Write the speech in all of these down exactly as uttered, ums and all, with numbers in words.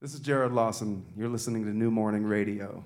This is Jared Lawson. You're listening to New Morning Radio.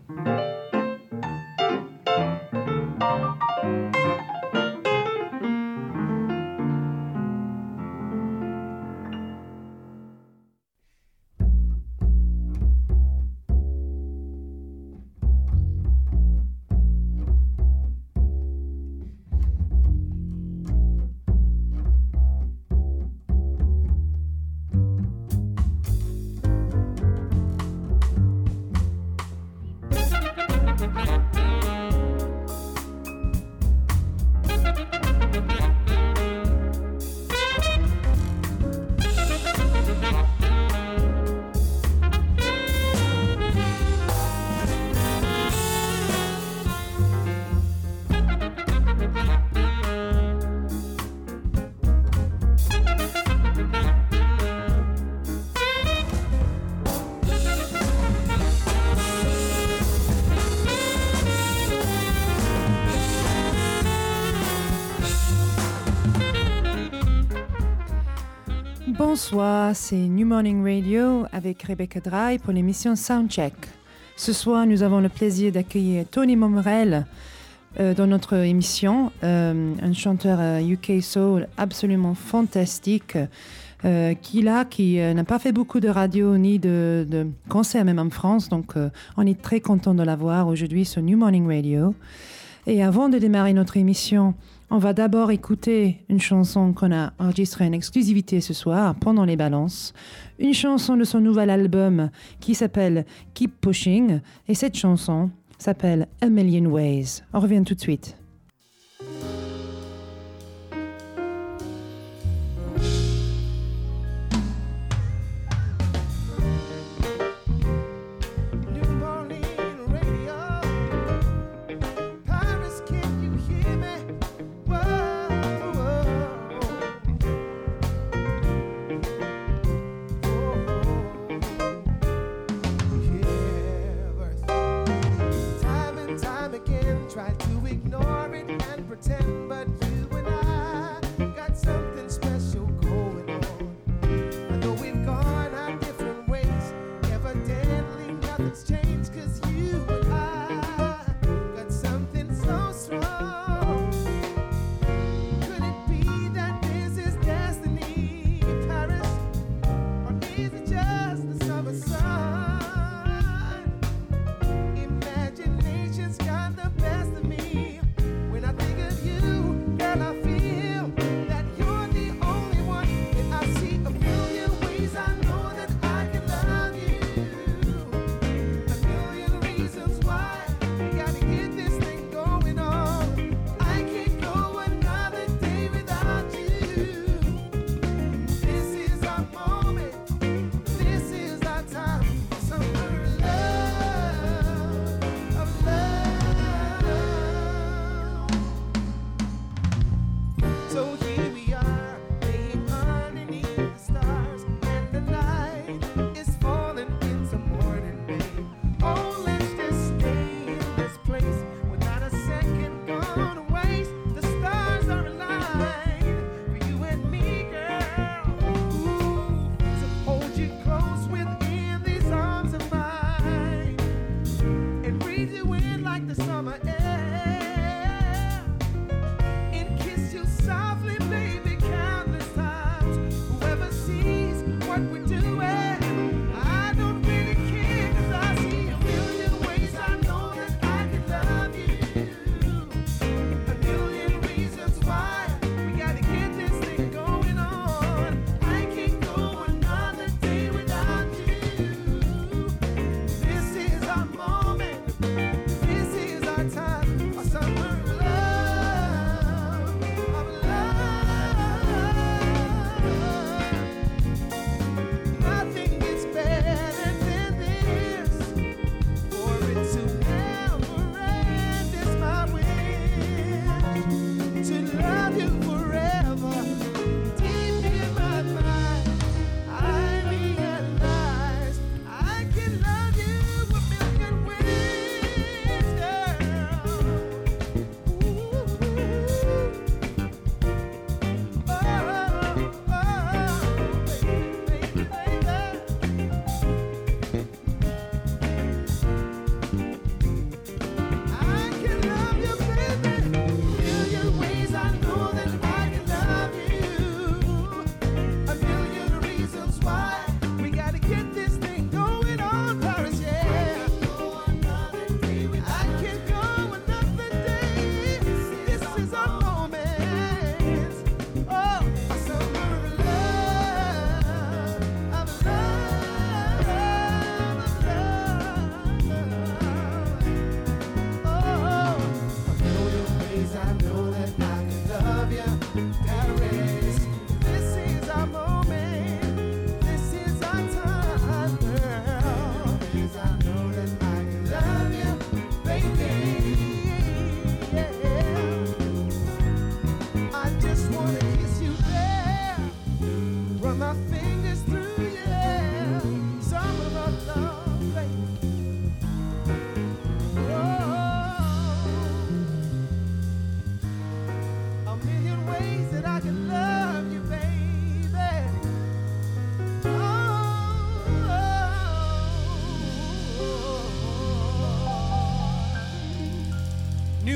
Bonsoir, c'est New Morning Radio avec Rebecca Dry pour l'émission Soundcheck. Ce soir, nous avons le plaisir d'accueillir Tony Momrelle euh, dans notre émission, euh, un chanteur euh, U K Soul absolument fantastique, euh, qui, là, qui euh, n'a pas fait beaucoup de radio ni de, de concerts, même en France, donc euh, on est très content de l'avoir aujourd'hui sur New Morning Radio. Et avant de démarrer notre émission, on va d'abord écouter une chanson qu'on a enregistrée en exclusivité ce soir pendant les balances. Une chanson de son nouvel album qui s'appelle Keep Pushing. Et cette chanson s'appelle A Million Ways. On revient tout de suite. Try to ignore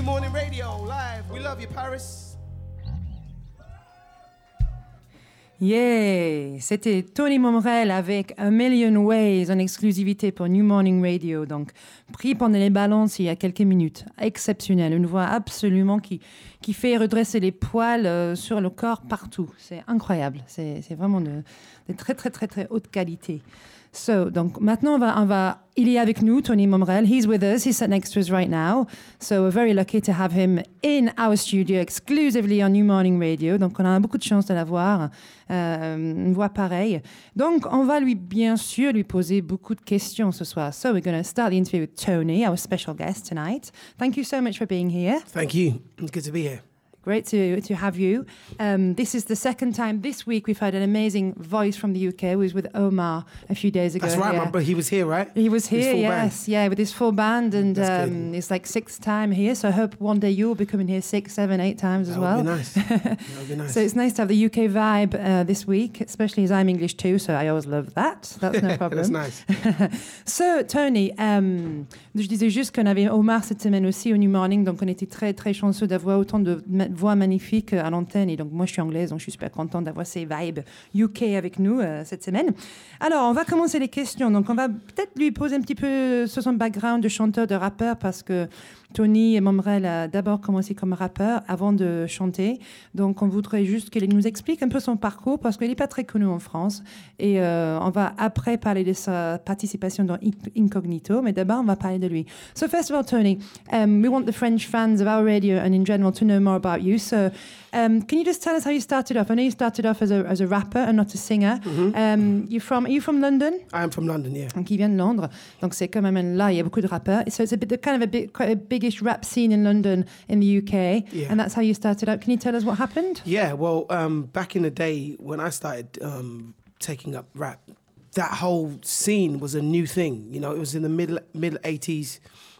New Morning Radio, live. We love you, Paris. Yeah, c'était Tony Momrel avec A Million Ways en exclusivité pour New Morning Radio. Donc, pris pendant les balances il y a quelques minutes. Exceptionnel, une voix absolument qui, qui fait redresser les poils euh, sur le corps partout. C'est incroyable, c'est, c'est vraiment de, de très très très très haute qualité. So, donc maintenant on va, on va, il est avec nous, Tony Momrel. He's with us. He's sat next to us right now. So we're very lucky to have him in our studio exclusively on New Morning Radio. Donc on a beaucoup de chance de l'avoir, euh, une voix pareille. Donc on va lui, bien sûr, lui poser beaucoup de questions ce soir. So we're going to start the interview with Tony, our special guest tonight. Thank you so much for being here. Thank you. It's good to be here. Great to to have you. Um, this is the second time this week we've had an amazing voice from the U K. We was with Omar a few days ago. That's right, yeah. my brother. He was here, right? He was His here, full yes, band. yeah, with his full band, and That's um, good. it's like sixth time here. So I hope one day you'll be coming here six, seven, eight times as That well. would be nice. That would be nice. So it's nice to have the U K vibe uh, this week, especially as I'm English too. So I always love that. That's no problem. That's nice. So Tony, um, je disais juste qu'on avait Omar cette semaine aussi au New Morning, donc on était très très chanceux d'avoir autant de ma- voix magnifiques à l'antenne. Et donc moi je suis anglaise, donc je suis super contente d'avoir ces vibes U K avec nous euh, cette semaine. Alors on va commencer les questions. Donc on va peut-être lui poser un petit peu sur son background de chanteur, de rappeur, parce que Tony Momrel a d'abord commencé comme rappeur avant de chanter. Donc on voudrait juste qu'il nous explique un peu son parcours, parce qu'il n'est pas très connu en France. Et euh, on va après parler de sa participation dans Incognito, mais d'abord on va parler de lui. So first of all, Tony, um, we want the French fans of our radio and in general to know more about you. So um, can you just tell us how you started off? I know you started off as a, as a rapper and not a singer. Mm-hmm. Um, you're from, are you from London? I'm from London, yeah. Donc il vient de Londres, donc c'est quand même là il y a beaucoup de rappeurs. So it's a bit kind of a bit quite a biggish rap scene in London in the U K, Yeah. and that's how you started out. Can you tell us what happened? Yeah, well, um, back in the day when I started um, taking up rap, that whole scene was a new thing. You know, it was in the middle middle eighties,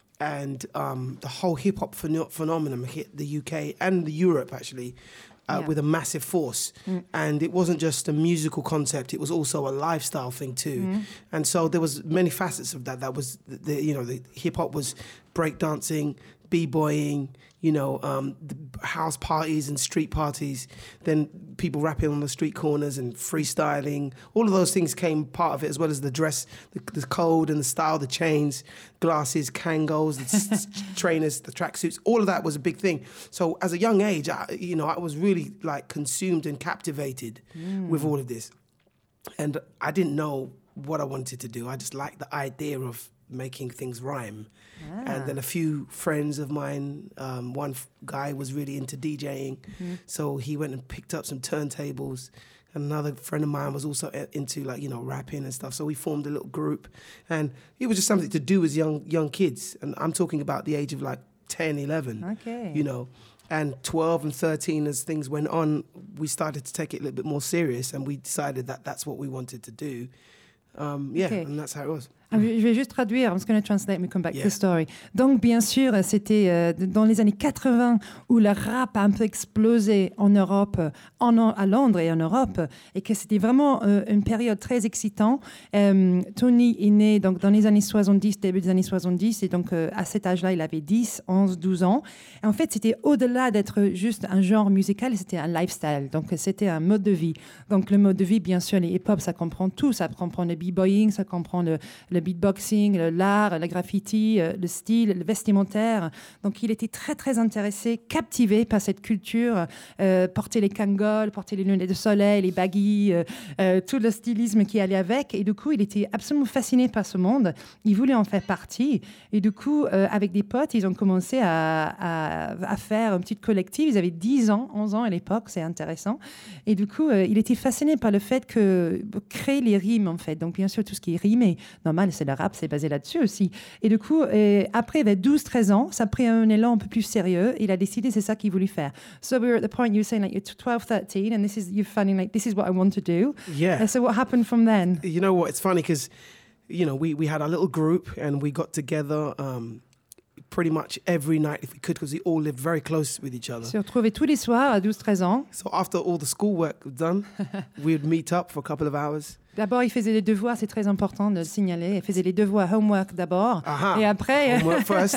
and um, the whole hip hop pheno- phenomenon hit the U K and the Europe actually. Uh, Yeah. With a massive force, Mm. and it wasn't just a musical concept; it was also a lifestyle thing too. Mm. And so there was many facets of that. That was the, the you know the hip hop was breakdancing, b-boying, you know, um, the house parties and street parties. Then people rapping on the street corners and freestyling. All of those things came part of it, as well as the dress, the, the code and the style, the chains, glasses, Kangos, the s- s- trainers, the tracksuits. All of that was a big thing. So as a young age, I, you know, I was really like consumed and captivated Mm. with all of this. And I didn't know what I wanted to do. I just liked the idea of making things rhyme. Ah. And then a few friends of mine, um, one f- guy was really into DJing, Mhm. so he went and picked up some turntables. Another friend of mine was also i- into like, you know, rapping and stuff. So we formed a little group, and it was just something to do as young young kids. And I'm talking about the age of like ten, eleven, Okay. you know. And twelve and thirteen, as things went on, we started to take it a little bit more serious, and we decided that that's what we wanted to do. Um, yeah, Okay. and that's how it was. Ah, Je je vais juste traduire. I'm just going to translate me come back Yeah. to the story. Donc, bien sûr, c'était euh, dans les années quatre-vingts où le rap a un peu explosé en Europe, en, à Londres et en Europe, et que c'était vraiment euh, une période très excitante. Euh, Tony est né donc, dans les années soixante-dix, début des années soixante-dix, et donc euh, à cet âge-là, il avait dix, onze, douze ans. Et en fait, c'était au-delà d'être juste un genre musical, c'était un lifestyle. Donc, c'était un mode de vie. Donc, le mode de vie, bien sûr, les hip-hop, ça comprend tout. Ça comprend le b-boying, ça comprend le, le beatboxing, le- l'art, le graffiti, euh, le style, le vestimentaire. Donc, il était très, très intéressé, captivé par cette culture. Euh, porter les kangols, porter les lunettes de soleil, les baggy, euh, euh, tout le stylisme qui allait avec. Et du coup, il était absolument fasciné par ce monde. Il voulait en faire partie. Et du coup, euh, avec des potes, ils ont commencé à, à, à faire une petite collective. Ils avaient dix ans, onze ans à l'époque, c'est intéressant. Et du coup, euh, il était fasciné par le fait que créer les rimes, en fait. Donc, bien sûr, tout ce qui est rimé, normal, c'est le rap, c'est basé là-dessus aussi. Et du coup, euh, après, vers douze treize ans, ça a pris un élan un peu plus sérieux. Il a décidé, c'est ça qu'il voulait faire. So we were at the point you were saying, like, you're twelve, thirteen, and this is, you're finding, like, this is what I want to do. Yeah. And so what happened from then? You know what? It's funny because, you know, we, we had our little group and we got together um, pretty much every night if we could, because we all lived very close with each other. Se retrouver tous les soirs à douze treize ans. So after all the schoolwork was done, we would meet up for a couple of hours D'abord, il faisait les devoirs, c'est très important de le signaler. Il faisait les devoirs, homework d'abord, Uh-huh. et après. Homework first.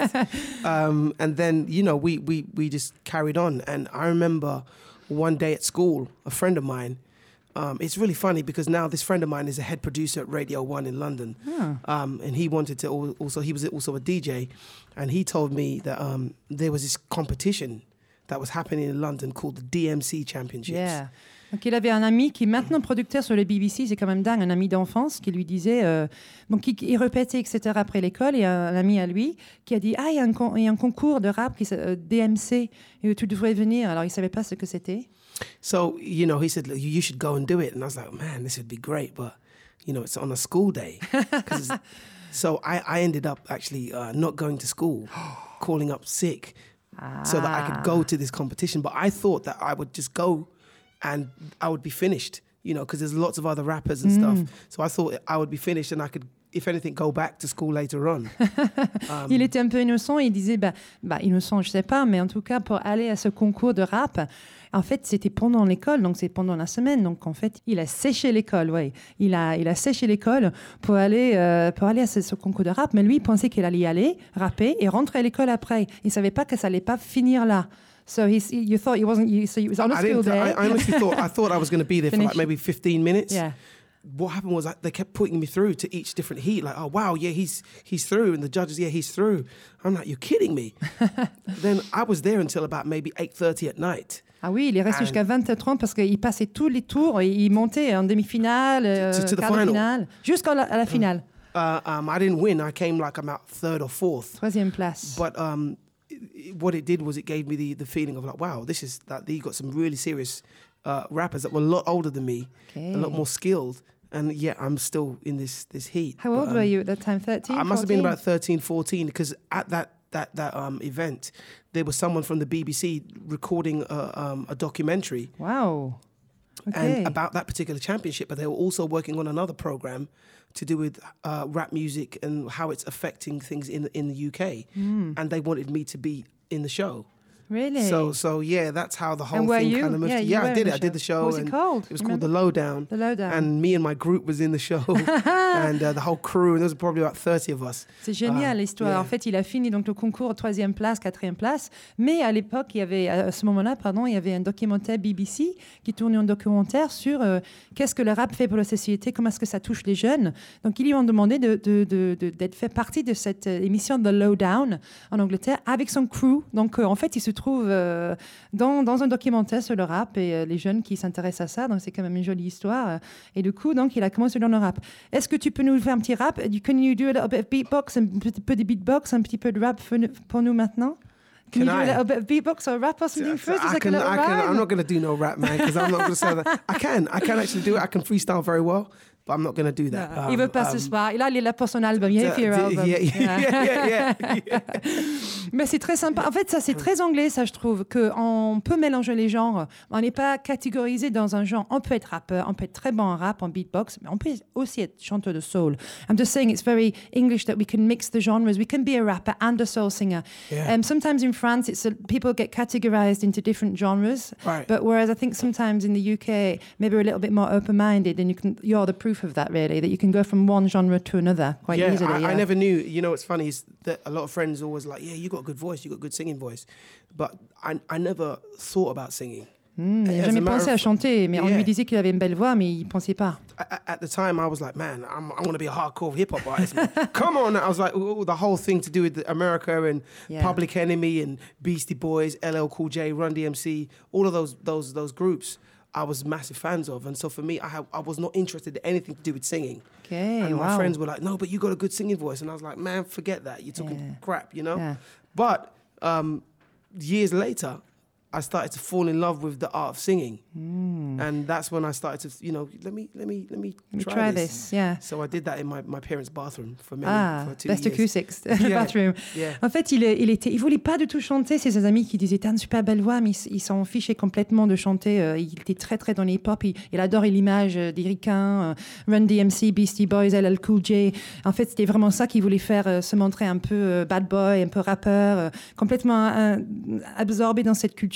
um, and then, you know, we, we, we just carried on. And I remember one day at school, a friend of mine, um, it's really funny because now this friend of mine is a head producer at Radio One in London. Oh. Um, and he wanted to al- also, he was also a D J. And he told me that um, there was this competition that was happening in London called the D M C Championships. Yeah. Donc il avait un ami qui est maintenant producteur sur le B B C, c'est quand même dingue, un ami d'enfance qui lui disait, euh, donc il, il répétait, et cetera après l'école, et un, un ami à lui qui a dit, ah, il y a un, con- il y a un concours de rap qui s'appelle euh, D M C, et tu devrais venir. Alors il ne savait pas ce que c'était. So, you know, he said, "Look, you should go and do it." And I was like, man, this would be great. But, you know, it's on a school day. 'Cause it's- so I, I ended up actually uh, not going to school, calling up sick so that I could go to this competition. But I thought that I would just go and I would be finished, you know, because there's lots of other rappers and stuff. So I thought I would be finished and I could, if anything, go back to school later on. Um, Il était un peu innocent, il disait, bah, bah, innocent, je sais pas, mais en tout cas, pour aller à ce concours de rap, en fait, c'était pendant l'école, donc c'est pendant la semaine. Donc en fait, il a séché l'école, ouais. Il a, il a séché l'école pour aller, euh, pour aller à ce, ce concours de rap. Mais lui, il pensait qu'il allait y aller, rapper et rentrer à l'école après. Il savait pas que ça allait pas finir là. So he, you thought he wasn't, you, so he was on a I school didn't. I, day. I honestly thought I thought I was going to be there for Finish. like maybe fifteen minutes. Yeah. What happened was like, they kept putting me through to each different heat. Like, oh wow, yeah, he's he's through, and the judges, yeah, he's through. I'm like, you're kidding me. Then I was there until about maybe eight thirty at night. Ah oui, il est resté And- jusqu'à vingt heures trente parce qu'il passait tous les tours et il montait en demi-finale, euh, To- to the quart de final. finale, jusqu'à la, à la finale. Uh, um, I didn't win. I came like about third or fourth. Troisième place. But um, it, it- what it did was it gave me the, the feeling of like, wow, this is that you got some really serious uh, rappers that were a lot older than me, Okay. a lot more skilled, and yet I'm still in this this heat. How But, old um, were you at that time? thirteen? I must have been fourteen? about thirteen, fourteen, because at that that that um, event, there was someone from the B B C recording a, um, a documentary Wow. Okay. and about that particular championship, but they were also working on another program to do with uh, rap music and how it's affecting things in in the U K, and they wanted me to be in the show. Really? So so yeah, that's how the whole And were thing you? kind of moved. Yeah, you yeah were I in did the it. I did the show. What was it and called? It was Remember? called The Lowdown. The Lowdown. And me and my group was in the show, and uh, the whole crew. And there was probably about thirty of us. C'est génial Ah, l'histoire. yeah. En fait, il a fini donc le concours troisième place, quatrième place. Mais à l'époque, il y avait, à ce moment-là, pardon, il y avait un documentaire B B C qui tournait un documentaire sur euh, qu'est-ce que le rap fait pour la société, comment est-ce que ça touche les jeunes. Donc, ils lui ont demandé de, de, de, de- d'être fait partie de cette euh, émission The Lowdown en Angleterre avec son crew. Donc, euh, en fait, il se trouve euh, dans, dans un documentaire sur le rap et euh, les jeunes qui s'intéressent à ça. Donc, c'est quand même une jolie histoire. Et du coup, donc, il a commencé dans le rap. Est-ce que tu peux nous faire un petit rap? Can you do a little bit of beatbox, un petit peu de beatbox, un petit peu de rap pour nous- pour nous maintenant? Can, Can you do I? a little bit of beatbox or rap or something first? Just I like can, a little I can, rhyme? I'm not going to do no rap, man, because I'm not going to say that. I can, I can actually do it. I can freestyle very well, but I'm not going to do that. Ah, il veut pas ce um, soir. Et là, il est là pour son album. Il d- est your d- album. yeah, yeah, yeah, yeah, yeah. Mais c'est très sympa. En fait, ça, c'est très anglais, ça, je trouve, qu'on peut mélanger les genres. On n'est pas catégorisé dans un genre. On peut être rappeur, on peut être très bon en rap, en beatbox, mais on peut aussi être chanteur de soul. I'm just saying it's very English that we can mix the genres. We can be a rapper and a soul singer. Yeah. Um, sometimes in France, it's a, people get categorized into different genres. Right. But whereas I think sometimes in the U K, maybe we're a little bit more open-minded, and you can, you're the proof of that, really, that you can go from one genre to another quite yeah, easily. I, yeah. I never knew. You know, what's funny is that a lot of friends always like, yeah, you got a good voice, you got a good singing voice, but I, I never thought about singing. Hmm, il n'a As a jamais matter pensé of- à chanter, mais on Yeah. lui disait qu'il avait une belle voix, mais il ne pensait pas. At, at the time, I was like, man, I'm, I want to be a hardcore hip hop artist. Man. Come on! I was like, ooh, the whole thing to do with America and Yeah. Public Enemy and Beastie Boys, L L Cool J, Run D M C, all of those those those groups, I was massive fans of. And so for me, I have, I was not interested in anything to do with singing. Okay, and my wow. friends were like, no, but you got a good singing voice. And I was like, man, forget that. You're talking Yeah. crap, you know. Yeah. But um, years later, I started to fall in love with the art of singing, Mm. and that's when I started to, you know, let me, let me, let me, Let me try, try this. this, yeah. So I did that in my, my parents' bathroom for many, Ah, for two best years. acoustics, Yeah. bathroom. Yeah. En fait, il, est- il était, il voulait pas du tout chanter. C'est ses amis qui disaient t'as une super belle voix, mais ils- ils s'en fichaient complètement de chanter. Euh, Il était très très dans les hip-hop. Il, il adore l'image euh, des ricains, euh, Run D M C, Beastie Boys, L L Cool J. En fait, c'était vraiment ça qu'il voulait faire, euh, se montrer un peu euh, bad boy, un peu rappeur, euh, complètement euh, absorbé dans cette culture.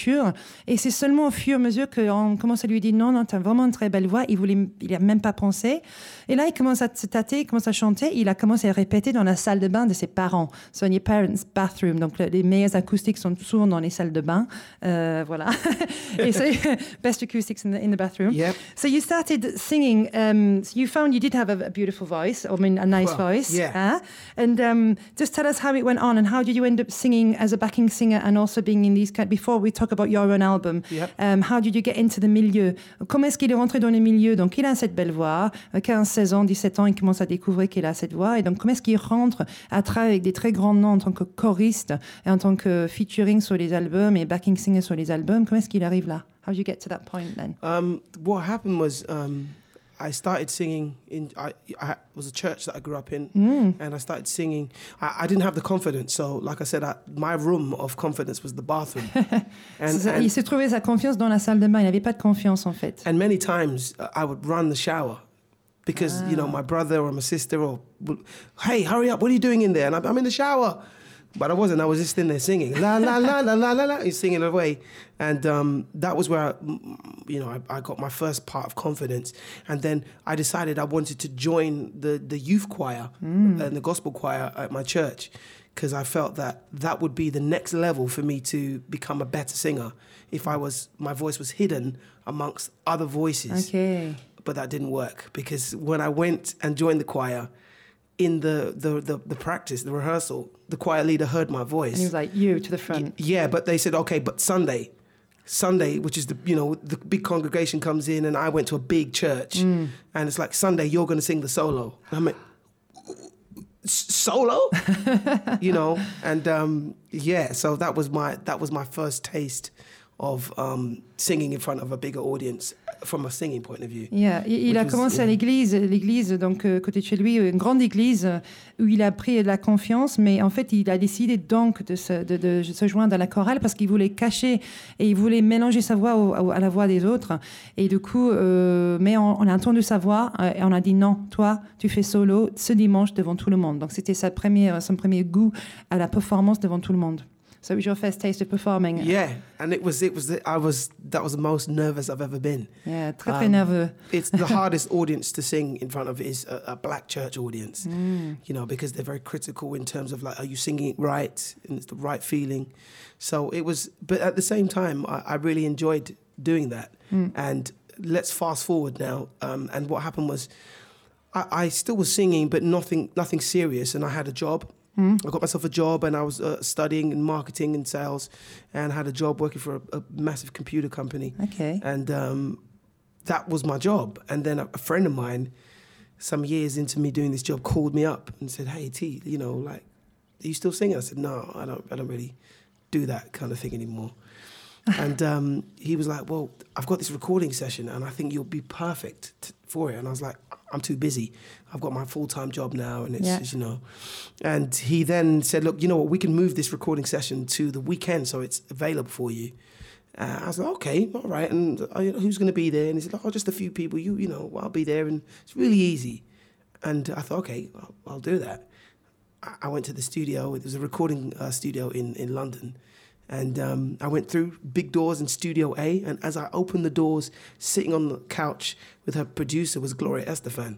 ouverture. Et c'est seulement au fur et à mesure qu'on commence à lui dire non, non, tu as vraiment une très belle voix. Il voulait, il a même pas pensé. Et là, il commence à se tâter, il commence à chanter. Il a commencé à répéter dans la salle de bain de ses parents. So in your parents' bathroom. Donc les meilleures acoustiques sont souvent dans les salles de bain. Euh, voilà. Et so, best acoustics in the, in the bathroom. Yep. So you started singing. Um, so you found you did have a, a beautiful voice. I mean, a nice Well, voice. yeah. Uh, and um, just tell us how it went on and how did you end up singing as a backing singer and also being in these kind. Before we talk about your own album, Yep. um, how did you get into the milieu? Comment est-ce qu'il est rentré dans le milieu? Donc il a cette belle voix, quinze, seize ans, dix-sept ans, il commence à découvrir qu'il a cette voix. Et donc comment est-ce qu'il rentre à travailler avec des très grands noms en tant que choriste et en tant que featuring sur les albums et backing singer sur les albums? Comment est-ce qu'il arrive là? How did you get to that point then? Um, what happened was um, I started singing in. I, I it was a church that I grew up in, Mm. and I started singing. I, I didn't have the confidence, so like I said, I, my room of confidence was the bathroom. and, Ça, and, il s'est trouvé sa confiance dans la salle de bain. Il n'avait pas de confiance en fait. and many times uh, I would run the shower because you know my brother or my sister or would, hey, hurry up! What are you doing in there? And I'm, I'm in the shower. But I wasn't. I was just in there singing, la la la la la la la, singing away, and um, that was where, I, you know, I, I got my first part of confidence. And then I decided I wanted to join the the youth choir mm. and the gospel choir at my church, because I felt that that would be the next level for me to become a better singer. If I was, my voice was hidden amongst other voices. Okay. But that didn't work, because when I went and joined the choir, in the, the, the, the practice, the rehearsal, the choir leader heard my voice. And he was like, you to the front. Y- yeah, but they said, okay, but Sunday, Sunday, which is the, you know, the big congregation comes in, and I went to a big church, mm. and it's like, Sunday, you're going to sing the solo. And I'm like, solo? You know, and um, yeah, so that was my, that was my first taste of um, singing in front of a bigger audience from a singing point of view. Yeah. Il a was, commencé yeah. à l'église, l'église donc euh, côté de chez lui, une grande église euh, où il a pris de la confiance, mais en fait il a décidé donc de se, de, de se joindre à la chorale parce qu'il voulait cacher et il voulait mélanger sa voix au, au, à la voix des autres. Et du coup, euh, mais on, on a entendu sa voix euh, et on a dit non, toi tu fais solo ce dimanche devant tout le monde. Donc c'était sa première, son premier goût à la performance devant tout le monde. So it was your first taste of performing. Yeah, and it was it was the, I was that was the most nervous I've ever been. Yeah, très très Um, nerveux. It's the hardest audience to sing in front of is a, a black church audience, Mm. you know, because they're very critical in terms of like, are you singing it right, and it's the right feeling. So it was, but at the same time, I, I really enjoyed doing that. Mm. And let's fast forward now, um, and what happened was, I, I still was singing, but nothing nothing serious, and I had a job. Mm. I got myself a job, and I was uh, studying in marketing and sales, and had a job working for a, a massive computer company. Okay. And um, that was my job. And then a, a friend of mine, some years into me doing this job, called me up and said, "Hey T, you know, like, are you still singing?" I said, "No, I don't. I don't really do that kind of thing anymore." And um, he was like, "Well, I've got this recording session, and I think you'll be perfect t- for it." And I was like, "I'm too busy. I've got my full-time job now, and it's Yeah. just, you know." And he then said, "Look, you know what? We can move this recording session to the weekend, so it's available for you." Uh, I was like, "Okay, all right." And uh, you know, who's going to be there? And he said, "Oh, just a few people. You, you know, I'll be there." And it's really easy. And I thought, "Okay, I'll, I'll do that." I, I went to the studio. It was a recording uh, studio in in London. And um, I went through big doors in Studio A, and as I opened the doors, sitting on the couch with her producer was Gloria Estefan.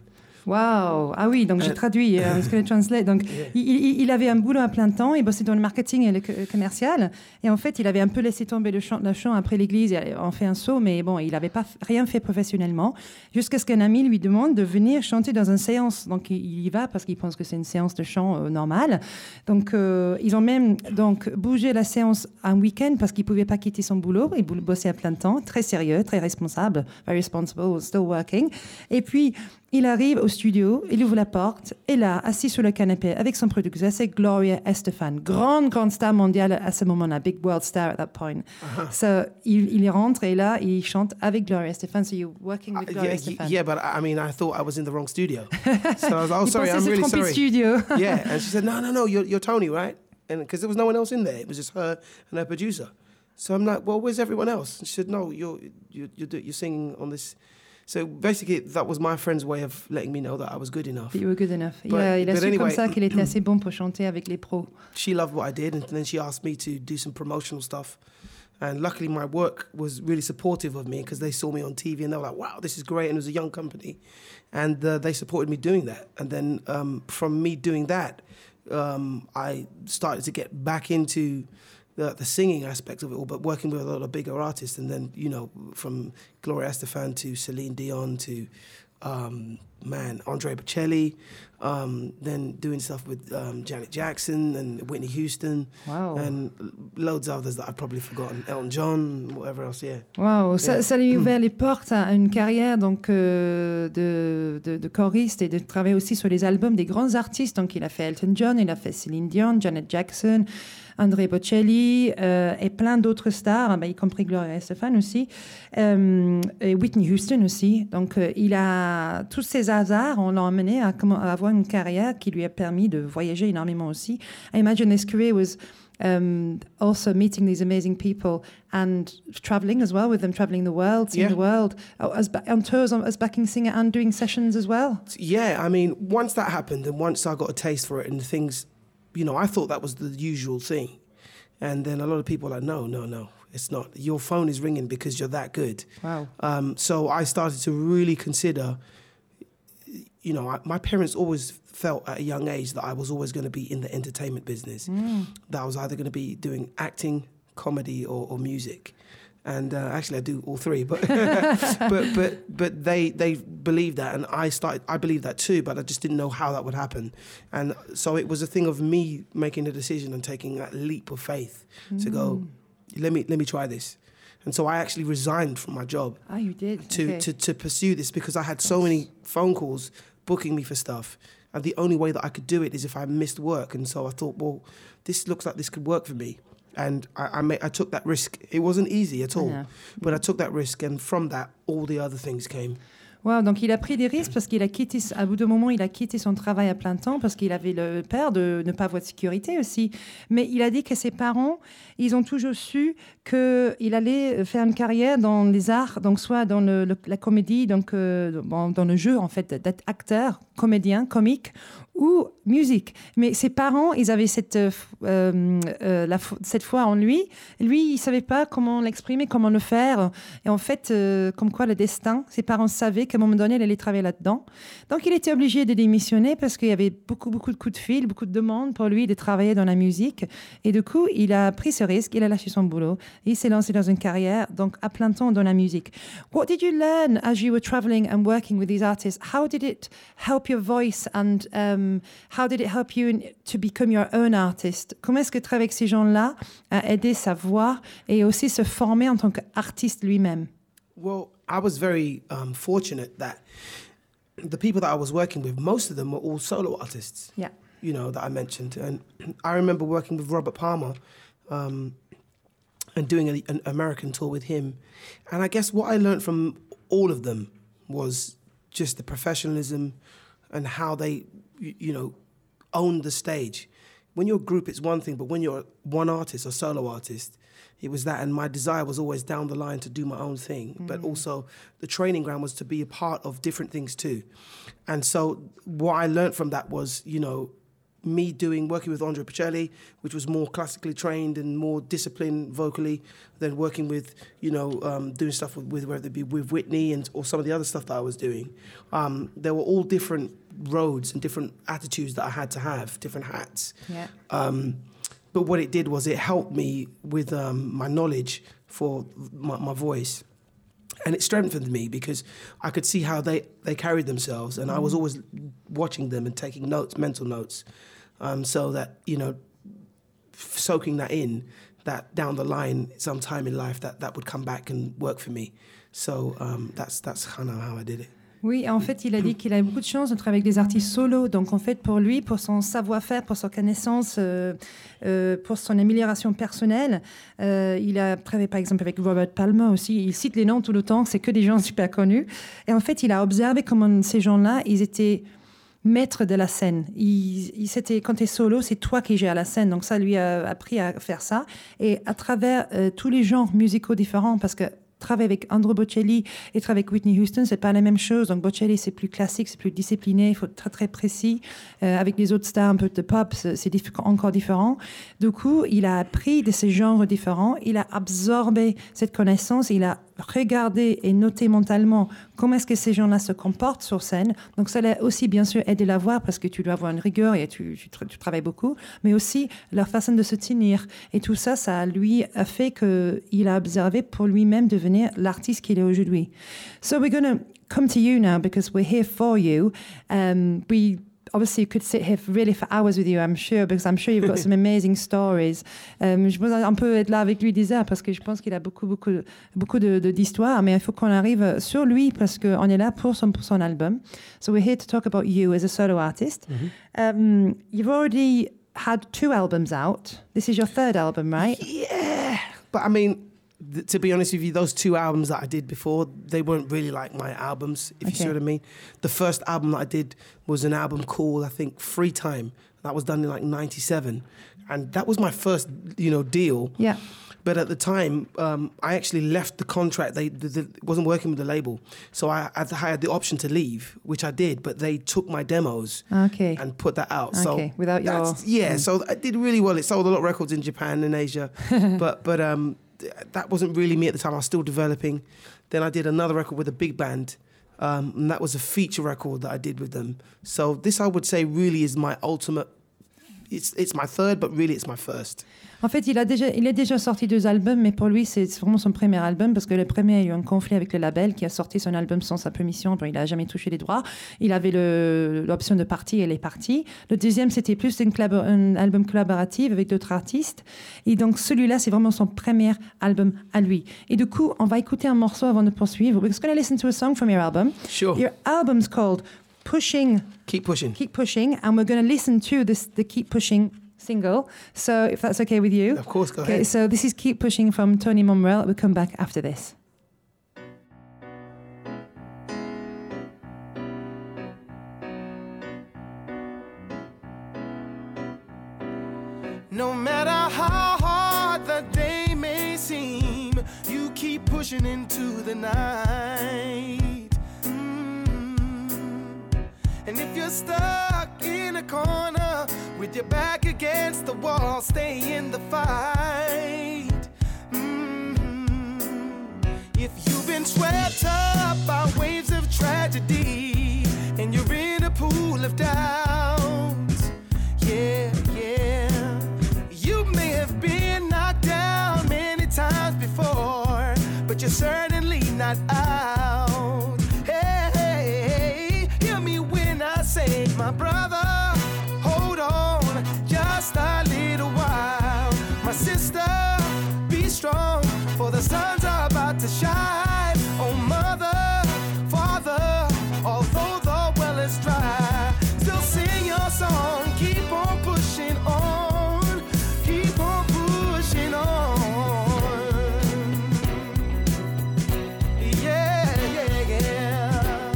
Wow. Ah oui, donc j'ai Euh, traduit, euh, parce que le translate. Donc Yeah. il, il- il avait un boulot à plein temps, il bossait dans le marketing et le co- commercial, et en fait il avait un peu laissé tomber le chant, le chant après l'église, et en fait un saut, mais bon, il n'avait pas f- rien fait professionnellement, jusqu'à ce qu'un ami lui demande de venir chanter dans une séance. Donc il, il y va parce qu'il pense que c'est une séance de chant euh, normale. Donc euh, ils ont même donc bougé la séance un week-end parce qu'il ne pouvait pas quitter son boulot, il boul- bossait à plein temps, très sérieux, très responsable, very responsible, still working. Et puis il arrive au studio, il ouvre la porte, et là, assis sur le canapé avec son producteur, c'est Gloria Estefan, grande, grande star mondiale à ce moment-là, big world star at that point. So, il, il y rentre, et là, il chante avec Gloria Estefan, so you're working with Uh, Gloria yeah, Estefan. y- yeah, but I I mean, I thought I was in the wrong studio. So I was like, "Oh, Il sorry, pensait I'm se really tromper de sorry." studio. Yeah, and she said, "No, no, no, you're, you're Tony, right?" And because there was no one else in there, it was just her and her producer. So I'm like, "Well, where's everyone else?" And she said, "No, you're you're you're, do- you're singing on this." So basically, that was my friend's way of letting me know that I was good enough. You were good enough. Il But- a, il a but su comme anyway- ça qu'il était assez bon pour chanter avec les pros. She loved what I did, and then she asked me to do some promotional stuff. And luckily, my work was really supportive of me because they saw me on T V and they were like, wow, this is great. And it was a young company. And uh, they supported me doing that. And then um, from me doing that, um, I started to get back into the, the singing aspect of it all, but working with a lot of bigger artists. And then, you know, from Gloria Estefan to Celine Dion to, um, man, Andrea Bocelli, um, then doing stuff with um, Janet Jackson and Whitney Houston, wow. and loads of others that I've probably forgotten, Elton John, whatever else, yeah. Wow, ça, Yeah. ça lui a ouvert les portes à une carrière donc euh, de, de, de choriste et de travailler aussi sur les albums des grands artistes. Donc il a fait Elton John, il a fait Celine Dion, Janet Jackson, Andrea Bocelli euh, et plein d'autres stars, bah, y compris Gloria Estefan aussi, euh, et Whitney Houston aussi. Donc euh, il a tous ces hasards, on l'a amené à, comment, à avoir une carrière qui lui a permis de voyager énormément aussi. I imagine his career was Um, also meeting these amazing people and traveling as well with them, traveling the world, seeing Yeah. the world, oh, as ba- on tours as backing singer and doing sessions as well. Yeah, I mean, once that happened and once I got a taste for it and things, you know, I thought that was the usual thing. And then a lot of people were like, no, no, no, it's not. Your phone is ringing because you're that good. Wow. Um, so I started to really consider, you know, I, my parents always felt at a young age that I was always going to be in the entertainment business. Mm. That I was either going to be doing acting, comedy, or, or music. And uh, actually, I do all three. But but but but they they believed that, and I started. I believed that too, but I just didn't know how that would happen. And so it was a thing of me making a decision and taking that leap of faith mm. to go. Let me let me try this. And so I actually resigned from my job. Ah, you did. To, Okay. to, to pursue this because I had so many phone calls booking me for stuff. And the only way that I could do it is if I missed work. And so I thought, well, this looks like this could work for me. And I, I, made, I took that risk. It wasn't easy at all. Yeah. But I took that risk. And from that, all the other things came. Wow, donc il a pris des risques parce qu'il a quitté, à bout de moment, il a quitté son travail à plein temps parce qu'il avait le peur de ne pas avoir de sécurité aussi. Mais il a dit que ses parents, ils ont toujours su qu'il allait faire une carrière dans les arts, donc soit dans le, le, la comédie, donc euh, dans le jeu en fait d'être acteur, comédien, comique ou musique. Mais ses parents, ils avaient cette, euh, euh, la, cette foi en lui. Lui, il ne savait pas comment l'exprimer, comment le faire. Et en fait, euh, comme quoi le destin, ses parents savaient qu'à un moment donné, il allait travailler là-dedans. Donc, il était obligé de démissionner parce qu'il y avait beaucoup, beaucoup de coups de fil, beaucoup de demandes pour lui de travailler dans la musique. Et du coup, il a pris ce risque, il a lâché son boulot. Il s'est lancé dans une carrière, donc à plein temps dans la musique. What did you learn as you were traveling and working with these artists? How did it help your voice and um, how did it help you in, to become your own artist? Comment est-ce que travailler avec ces gens-là a aidé sa voix et aussi se former en tant qu'artiste lui-même? Well, I was very um, fortunate that the people that I was working with, most of them were all solo artists. Yeah. You know, that I mentioned. And I remember working with Robert Palmer um, and doing a, an American tour with him. And I guess what I learned from all of them was just the professionalism and how they, you, you know, own the stage. When you're a group, it's one thing, but when you're one artist or solo artist, it was that. And my desire was always down the line to do my own thing. Mm. But also the training ground was to be a part of different things too. And so what I learned from that was, you know, me doing, working with Andrea Bocelli, which was more classically trained and more disciplined vocally, than working with, you know, um, doing stuff with, with, whether it be with Whitney and or some of the other stuff that I was doing. Um, they were all different roads and different attitudes that I had to have, different hats. Yeah. Um, but what it did was it helped me with um, my knowledge for my, my voice. And it strengthened me because I could see how they, they carried themselves. And I was always watching them and taking notes, mental notes, um, so that, you know, soaking that in, that down the line, sometime in life, that, that would come back and work for me. So um, that's, that's kind of how I did it. Oui, en fait, il a dit qu'il a beaucoup de chance de travailler avec des artistes solos. Donc, en fait, pour lui, pour son savoir-faire, pour sa connaissance, euh, euh, pour son amélioration personnelle, euh, il a travaillé, par exemple, avec Robert Palmer aussi. Il cite les noms tout le temps, c'est que des gens super connus. Et en fait, il a observé comment ces gens-là, ils étaient maîtres de la scène. Il, il, c'était, quand tu es solo, c'est toi qui gères la scène. Donc, ça lui a appris à faire ça. Et à travers euh, tous les genres musicaux différents, parce que travailler avec Andrew Bocelli et travailler avec Whitney Houston, c'est pas la même chose. Donc Bocelli, c'est plus classique, c'est plus discipliné, il faut être très très précis. Euh, avec les autres stars un peu de pop, c'est, c'est diff- encore différent. Du coup, il a appris de ces genres différents, il a absorbé cette connaissance, il a regardé et noté mentalement comment est-ce que ces gens-là se comportent sur scène. Donc ça l'a aussi bien sûr aidé à voir parce que tu dois avoir une rigueur et tu, tu, tu travailles beaucoup, mais aussi leur façon de se tenir. Et tout ça, ça lui a fait qu'il a observé pour lui-même devenir l'artiste qu'il est aujourd'hui. So we're going to come to you now because we're here for you. Um, we Obviously, you could sit here really for hours with you, I'm sure, because I'm sure you've got some amazing stories. Um, je pense un peu être là avec lui des heures parce que je pense qu'il a beaucoup, beaucoup, beaucoup de, de, d'histoires, mais il faut qu'on arrive sur lui parce qu'on est là pour son, pour son album. So we're here to talk about you as a solo artist. Mm-hmm. Um, you've already had two albums out. This is your third album, right? Yeah, but I mean, th- to be honest with you, those two albums that I did before, they weren't really like my albums, if okay. you see what I mean. The first album that I did was an album called, I think, Free Time. That was done in like ninety-seven. And that was my first, you know, deal. Yeah. But at the time, um, I actually left the contract. They the, the, wasn't working with the label. So I, I had the option to leave, which I did. But they took my demos okay. and put that out. Okay, so without your... Yeah, mm. so I did really well. It sold a lot of records in Japan and Asia. but but um, that wasn't really me at the time. I was still developing. Then I did another record with a big band. Um, and that was a feature record that I did with them. So this, I would say, really is my ultimate... It's, it's my third, but really it's my first. En fait, il a déjà, il a déjà sorti deux albums, mais pour lui, c'est vraiment son premier album parce que le premier a eu un conflit avec le label qui a sorti son album sans sa permission. Il n'a jamais touché les droits. Il avait le, l'option de partir et il est parti. Le deuxième, c'était plus une collab- un album collaboratif avec d'autres artistes. Et donc, celui-là, c'est vraiment son premier album à lui. Et du coup, on va écouter un morceau avant de poursuivre. We're just going to listen to a song from your album. Sure. Your album's called Pushing. Keep Pushing. Keep Pushing. And we're going to listen to this, the Keep Pushing single. So if that's okay with you. Of course, go okay, ahead. So this is Keep Pushing from Tony Momrelle. We'll come back after this. No matter how hard the day may seem, you keep pushing into the night. And if you're stuck in a corner with your back against the wall, stay in the fight. Mm-hmm. If you've been swept up by waves of tragedy and you're in a pool of doubt, yeah, yeah, you may have been knocked down many times before, but you're certainly not out. Say, my brother, hold on just a little while. My sister, be strong, for the sun's about to shine. Oh, mother, father, although the well is dry, still sing your song, keep on pushing on, keep on pushing on. Yeah, yeah, yeah.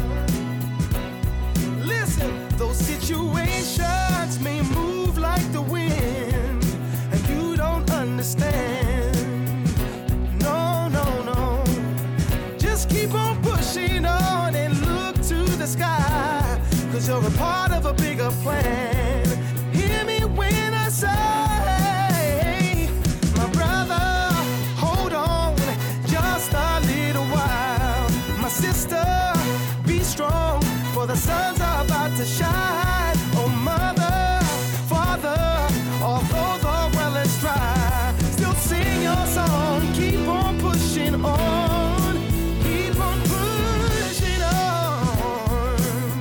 Those situations may move like the wind, and you don't understand. No, no, no. Just keep on pushing on and look to the sky, 'cause you're a part of a bigger plan. Hear me when I say, my brother, hold on just a little while. My sister, be strong, for the sun's about to shine. Oh, mother, father, although the well is dry, still sing your song, keep on pushing on, keep on pushing on.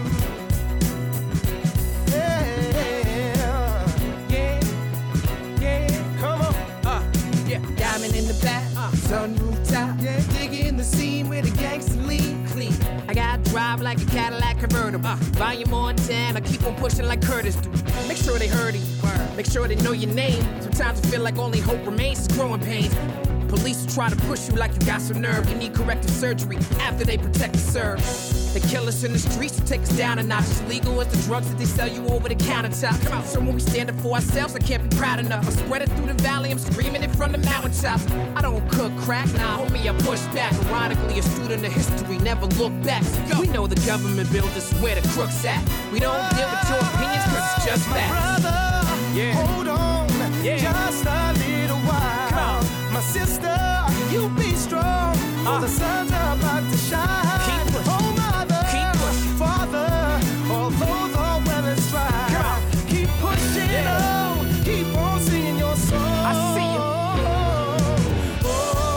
Yeah, yeah, yeah, come on. Uh, yeah, diamond in the back, uh, sun rooftop, yeah, digging the scene where the gangsters lean clean. I gotta drive like a Cadillac convertible. Uh, volume on ten, I keep on pushing like Curtis do. Make sure they heard it. Make sure they know your name. Sometimes I feel like only hope remains is growing pains. Police will try to push you like you got some nerve. You need corrective surgery after they protect the serve. They kill us in the streets to take us down a notch. It's legal as the drugs that they sell you over the countertop. Come on, so when we stand up for ourselves, I can't be proud enough. I spread it through the valley, I'm screaming it from the mountaintops. I don't cook crack, nah, homie, I push back. Ironically, a student of history, never look back. We know the government built us where the crooks at. We don't deal with your opinions, cause it's just My facts. brother, Yeah. hold on, Yeah. just a little while. Come on. My sister, you be strong, for Uh. the sun's about to shine. Keep pushing. Oh, mother, Keep pushing. father, although the well is dry, Come on. keep pushing Yeah. on, keep on singing your song. I see you. Oh,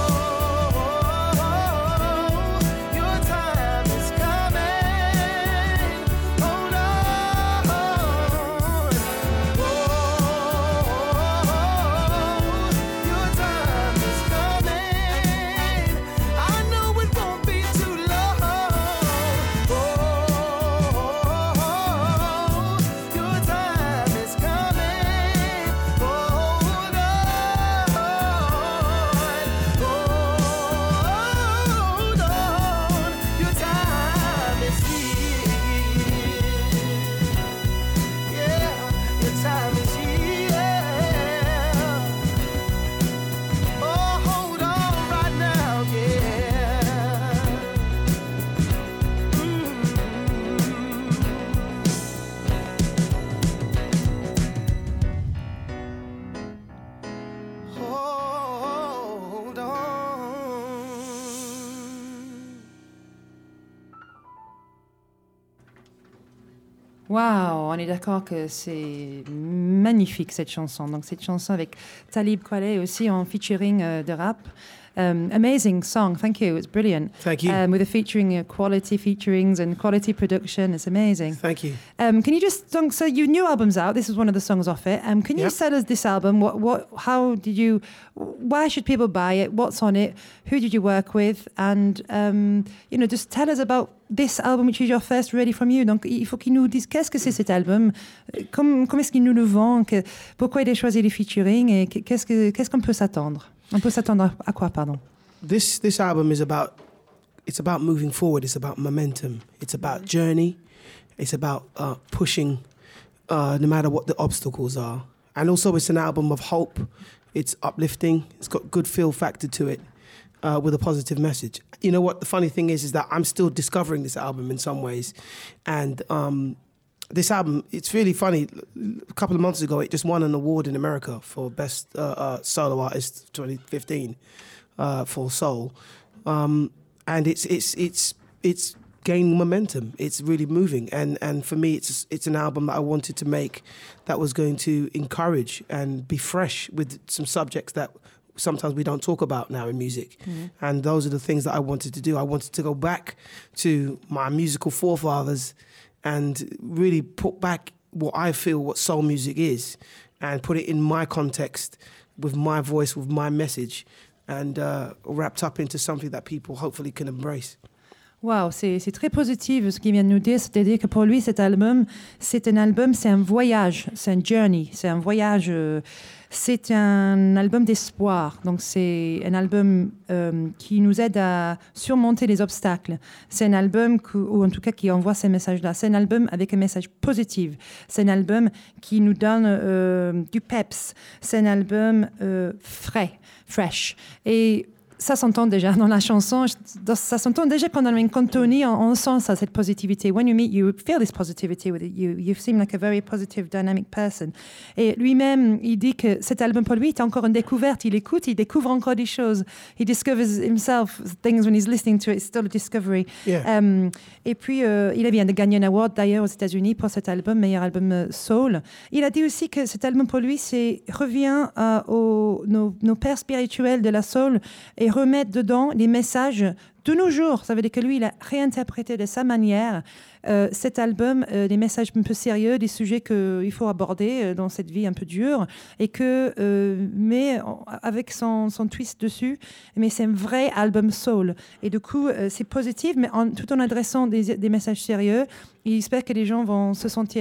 your time is coming. Hold on. Oh, your time is coming. I know it won't be too long. Oh, your time is coming. Hold on. Hold on. Your time is here. Yeah, your time is here. Oh, hold on right now, yeah. Mm. Hold on. Waouh, on est d'accord que c'est magnifique cette chanson. Donc cette chanson avec Talib Kweli aussi en featuring euh, de rap. Um, amazing song, thank you. It's brilliant. Thank you. Um, with the featuring uh, quality featurings and quality production, it's amazing. Thank you. Um, can you just so, so your new album's out? This is one of the songs off it. Um, can you Yep. sell us this album? What what? How did you? Why should people buy it? What's on it? Who did you work with? And um, you know, just tell us about this album, which is your first really from you. Donc, il faut qu'il nous dise qu'est-ce que c'est cet album, comment, comment est-ce qu'il nous le vend, que, pourquoi il a choisi les featuring et qu'est-ce que qu'est-ce qu'on peut s'attendre. On peut s'attendre à quoi, pardon? This this album is about it's about moving forward. It's about momentum. It's about journey. It's about uh, pushing, uh, no matter what the obstacles are. And also, it's an album of hope. It's uplifting. It's got good feel factor to it, uh, with a positive message. You know what? The funny thing is, is that I'm still discovering this album in some ways, and um, this album, it's really funny. A couple of months ago, it just won an award in America for best uh, uh, solo artist twenty fifteen. Uh, for soul, um, and it's it's it's it's gaining momentum. It's really moving, and and for me, it's it's an album that I wanted to make that was going to encourage and be fresh with some subjects that sometimes we don't talk about now in music. Mm-hmm. And those are the things that I wanted to do. I wanted to go back to my musical forefathers and really put back what I feel what soul music is, and put it in my context with my voice, with my message. And uh, wrapped up into something that people hopefully can embrace. Wow, c'est, c'est très positif ce qu'il vient de nous dire, c'est-à-dire que pour lui, cet album, c'est un album, c'est un voyage, c'est un journey, c'est un voyage, euh, c'est un album d'espoir. Donc c'est un album euh, qui nous aide à surmonter les obstacles. C'est un album, qui, ou en tout cas qui envoie ces messages-là. C'est un album avec un message positif. C'est un album qui nous donne euh, du peps. C'est un album euh, frais, fresh. Et ça s'entend déjà dans la chanson, ça s'entend déjà quand on est en Tony, on, on sent ça, cette positivité. When you meet, you feel this positivity with it. You, you seem like a very positive, dynamic person. Et lui-même, il dit que cet album pour lui est encore une découverte. Il écoute, il découvre encore des choses. He discovers himself things when he's listening to it. It's still a discovery. Yeah. Um, et puis, euh, il vient de gagner un award d'ailleurs aux États-Unis pour cet album, meilleur album euh, soul. Il a dit aussi que cet album pour lui, c'est revient euh, aux nos, nos pères spirituels de la soul et remettre dedans les messages de nos jours. Ça veut dire que lui, il a réinterprété de sa manière euh, cet album, euh, des messages un peu sérieux, des sujets qu'il faut aborder euh, dans cette vie un peu dure, et que, euh, mais avec son, son twist dessus, mais c'est un vrai album soul. Et du coup, euh, c'est positif, mais en, tout en adressant des, des messages sérieux. Il espère que les gens vont se sentir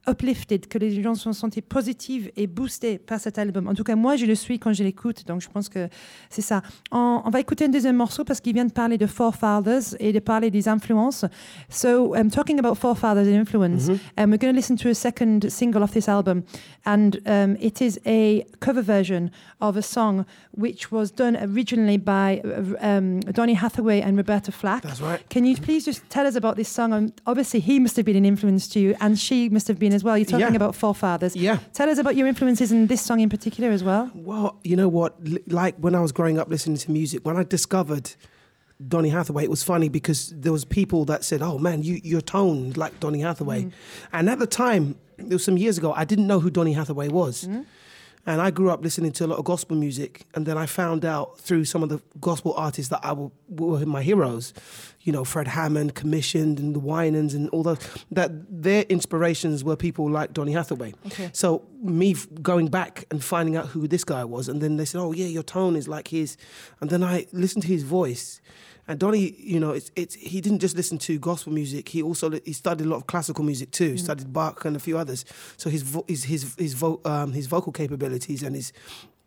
uplifted, que les gens se sont sentis positifs et boostés par cet album. En tout cas, moi, je le suis quand je l'écoute, donc je pense que c'est ça. On, on va écouter un deuxième morceau parce qu'il vient de parler de Forefathers et de parler des influences. So, I'm talking about Forefathers and influence, Mm-hmm. and we're going to listen to a second single of this album, and um, it is a cover version of a song which was done originally by uh, um, Donny Hathaway and Roberta Flack. That's right. Can you please just tell us about this song? Um, obviously, he must have been an influence to you, and she must have been as well. You're talking Yeah. about Forefathers. Yeah. Tell us about your influences in this song in particular as well. Well, you know what? L- Like when I was growing up listening to music, when I discovered Donny Hathaway, it was funny because there was people that said, "Oh man, you your tone is like Donny Hathaway," and at the time, it was some years ago, I didn't know who Donny Hathaway was. And I grew up listening to a lot of gospel music, and then I found out through some of the gospel artists that I w- were my heroes, you know, Fred Hammond, Commissioned, and the Winans, and all those, that their inspirations were people like Donny Hathaway. Okay. So me f- going back and finding out who this guy was, and then they said, "Oh yeah, your tone is like his," and then I listened to his voice. And Donny, you know, it's it's he didn't just listen to gospel music. He also he studied a lot of classical music too. He studied Bach and a few others. So his vo- his his his, vo- um, his vocal capabilities and his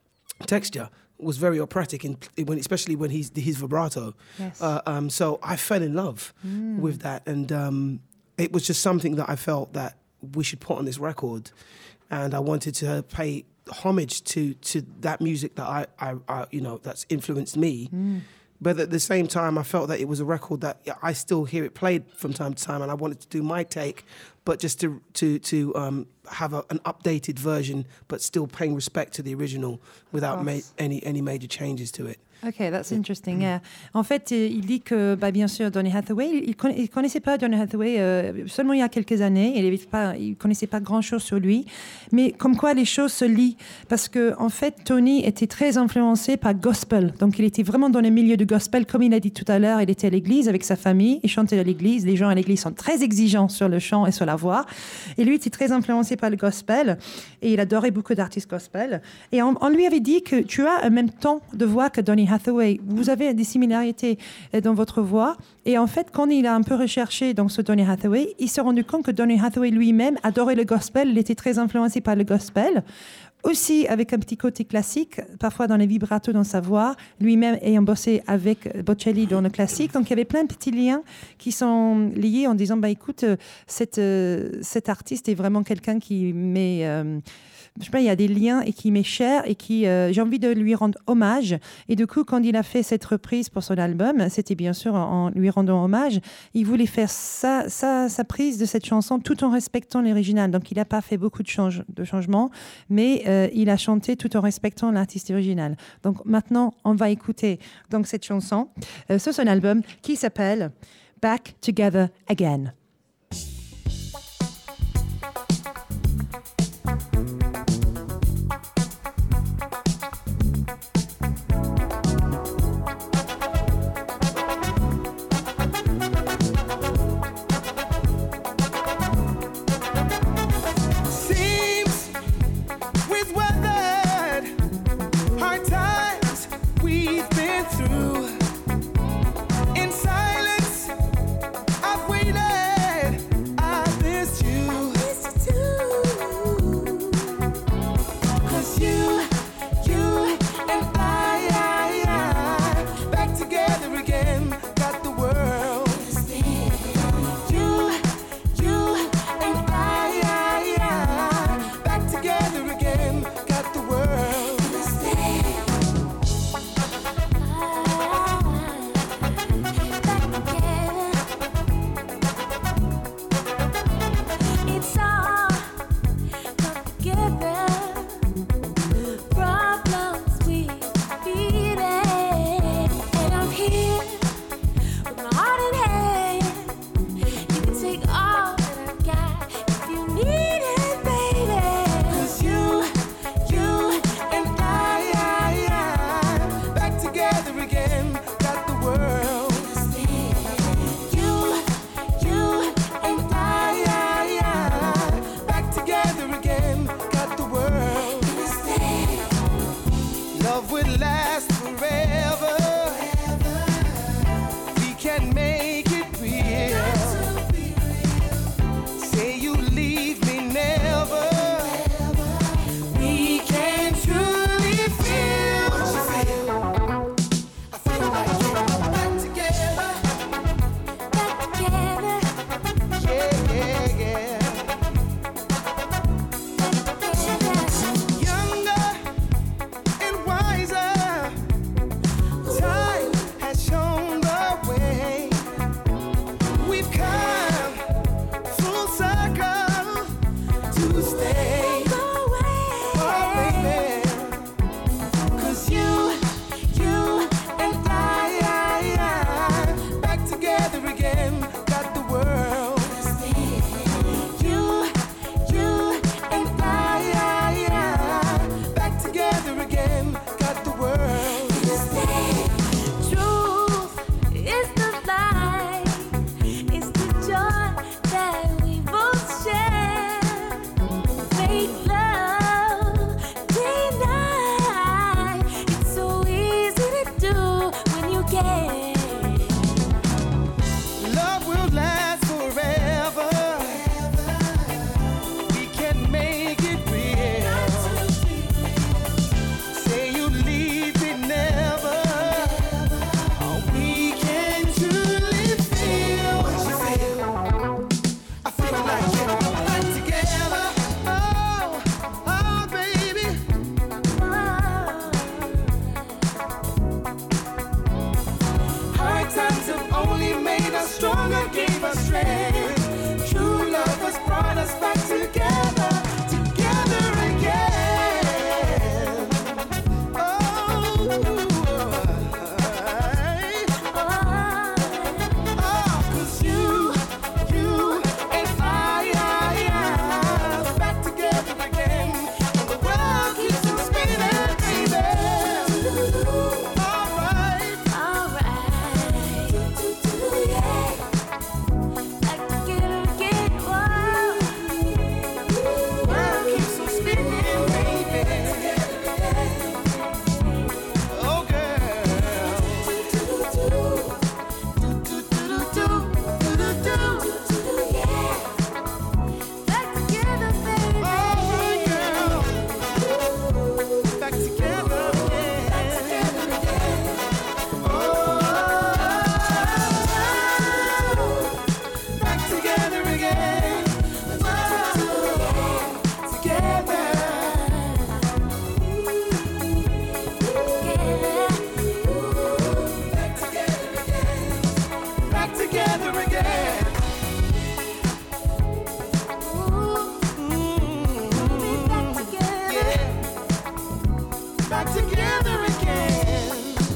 texture was very operatic, in, when especially when he's his vibrato. Yes. Uh, um, so I fell in love with that, and um, it was just something that I felt that we should put on this record, and I wanted to pay homage to to that music that I, I, I you know that's influenced me. But at the same time, I felt that it was a record that I still hear it played from time to time, and I wanted to do my take, but just to to to um, have a, an updated version, but still paying respect to the original without ma- any any major changes to it. Ok, that's interesting. Yeah. En fait, euh, il dit que, bah, bien sûr, Donny Hathaway, il ne connaissait pas Donny Hathaway euh, seulement il y a quelques années. Il ne connaissait pas grand-chose sur lui. Mais comme quoi les choses se lient. Parce que, en fait, Tony était très influencé par gospel. Donc, il était vraiment dans le milieu du gospel. Comme il a dit tout à l'heure, il était à l'église avec sa famille. Il chantait à l'église. Les gens à l'église sont très exigeants sur le chant et sur la voix. Et lui était très influencé par le gospel. Et il adorait beaucoup d'artistes gospel. Et on, on lui avait dit que tu as un même ton de voix que Donny Hathaway. Vous avez des similarités dans votre voix. Et en fait, quand il a un peu recherché donc, ce Donny Hathaway, il s'est rendu compte que Donny Hathaway lui-même adorait le gospel. Il était très influencé par le gospel. Aussi avec un petit côté classique, parfois dans les vibratos dans sa voix, lui-même ayant bossé avec Bocelli dans le classique. Donc il y avait plein de petits liens qui sont liés en disant, bah, écoute, cette, euh, cet artiste est vraiment quelqu'un qui met... Euh, je sais pas, il y a des liens et qui m'est cher et qui euh, j'ai envie de lui rendre hommage. Et du coup, quand il a fait cette reprise pour son album, c'était bien sûr en, en lui rendant hommage. Il voulait faire sa, sa, sa prise de cette chanson tout en respectant l'original. Donc, il n'a pas fait beaucoup de, change, de changements, mais euh, il a chanté tout en respectant l'artiste original. Donc, maintenant, on va écouter donc, cette chanson euh, sur son album qui s'appelle Back Together Again. Through in silence, I've waited. baby. True love has brought us back together, together again. Oh, oh, 'cause you, you and I, I, I, back together again. And the world keeps on spinning, baby. All right. All right. Yeah. Back together again. Whoa. World keeps on spinning, baby. Oh, girl. Back together, baby. Oh, girl. Back together again. Oh, back together again. Oh, together. Back together again. Yeah. Back together again.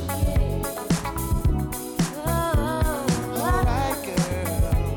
All right, girl.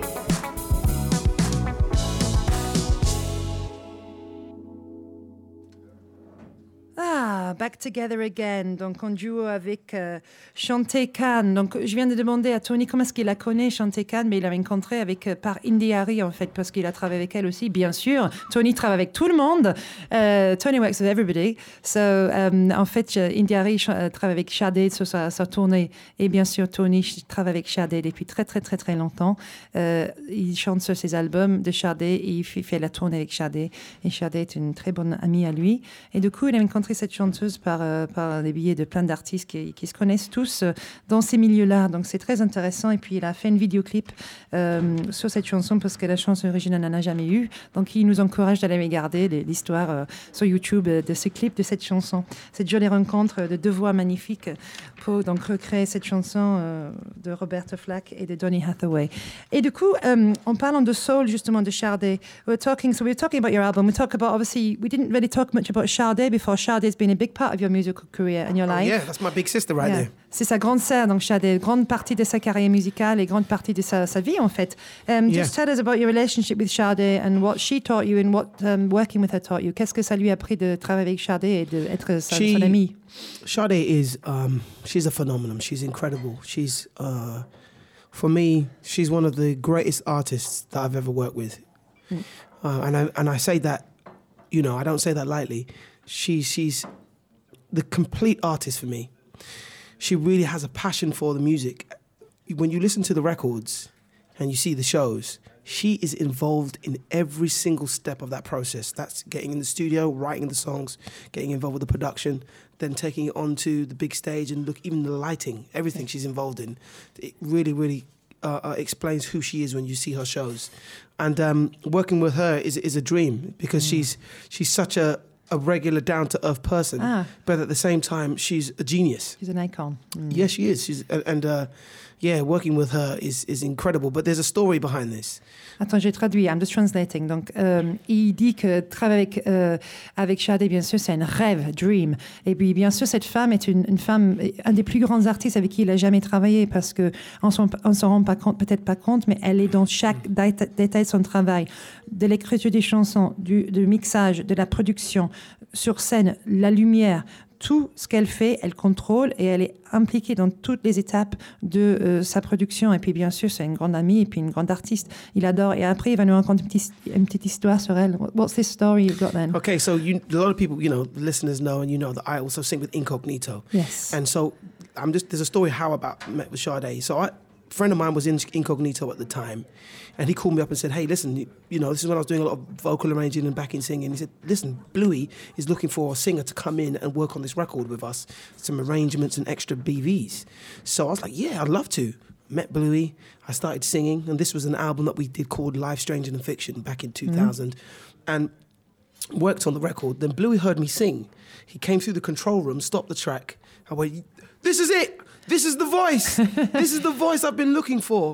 Ah, Back Together Again, donc en duo avec euh, Chante Khan. Donc je viens de demander à Tony comment est-ce qu'il la connaît, Chante Khan, mais il l'avait rencontrée avec, euh, par Indy Harry en fait, parce qu'il a travaillé avec elle aussi, bien sûr. Tony travaille avec tout le monde. Euh, Tony works with everybody. So, euh, en fait, euh, Indy Harry ch- euh, travaille avec Sade sur sa, sa tournée. Et bien sûr, Tony ch- travaille avec Sade depuis très, très, très, très longtemps. Euh, il chante sur ses albums de Sade et il fait, fait la tournée avec Sade. Et Sade est une très bonne amie à lui. Et du coup, il a rencontré cette chanteuse par, euh, par des billets de plein d'artistes qui, qui se connaissent tous euh, dans ces milieux-là. Donc, c'est très intéressant. Et puis, il a fait une vidéoclip euh, sur cette chanson parce que la chanson originale n'en a jamais eu. Donc, il nous encourage d'aller regarder les- l'histoire euh, sur YouTube euh, de ce clip, de cette chanson. Cette jolie rencontre de deux voix magnifiques pour donc recréer cette chanson euh, de Roberta Flack et de Donny Hathaway. Et du coup, um, en parlant de soul, justement, de Sade, we're talking, so we were talking about your album. We talk about, obviously, we didn't really talk much about Sade before. Sade's been a big part of your musical career and your Oh, life. yeah, that's my big sister right Yeah. there. C'est sa grande sœur, donc Sade, grande partie de sa carrière musicale et grande partie de sa, sa vie, en fait. Um, Yeah. Just tell us about your relationship with Sade and what she taught you and what um, working with her taught you. Qu'est-ce que ça lui a appris de travailler avec Sade et d'être sa, She- son amie? Sade is, um, she's a phenomenon. She's incredible. She's, uh, for me, she's one of the greatest artists that I've ever worked with. Uh, and I and I say that, you know, I don't say that lightly. She she's the complete artist for me. She really has a passion for the music. When you listen to the records and you see the shows, she is involved in every single step of that process. That's getting in the studio, writing the songs, getting involved with the production, then taking it onto the big stage and look, even the lighting, everything she's involved in. It really, really uh, uh, explains who she is when you see her shows. And um, working with her is is a dream because she's she's such a, a regular, down-to-earth person, Ah. but at the same time, she's a genius. She's an icon. Mm. Yeah, she is. She's and, and uh, yeah, working with her is is incredible. But there's a story behind this. Attends, j'ai traduit, I'm just translating. Donc, euh, il dit que travailler avec, euh, avec Sade, bien sûr, c'est un rêve, dream. Et puis, bien sûr, cette femme est une, une femme, un des plus grands artistes avec qui il a jamais travaillé parce qu'on ne s'en rend pas compte, peut-être pas compte, mais elle est dans chaque déta- détail de son travail, de l'écriture des chansons, du, du mixage, de la production, sur scène, la lumière. Tout ce qu'elle fait, elle contrôle et elle est impliquée dans toutes les étapes de euh, sa production. Et puis, bien sûr, c'est une grande amie et puis une grande artiste. Il adore. Et après, il va nous raconter une petite, une petite histoire sur elle. What's this story you've got then? Okay, so you, a lot of people, you know, the listeners know, and you know that I also sing with Incognito. Yes. And so I'm just there's a story how I about met with Sade. So I, a friend of mine was in Incognito at the time, and he called me up and said, "Hey, listen, you, you know, this is when I was doing a lot of vocal arranging and backing singing." He said, "Listen, Bluey is looking for a singer to come in and work on this record with us, some arrangements and extra B Vs." So I was like, "Yeah, I'd love to." Met Bluey, I started singing, and this was an album that we did called Life, Stranger Than Fiction back in two thousand, and worked on the record. Then Bluey heard me sing. He came through the control room, stopped the track. I went, "This is it. This is the voice. This is the voice I've been looking for."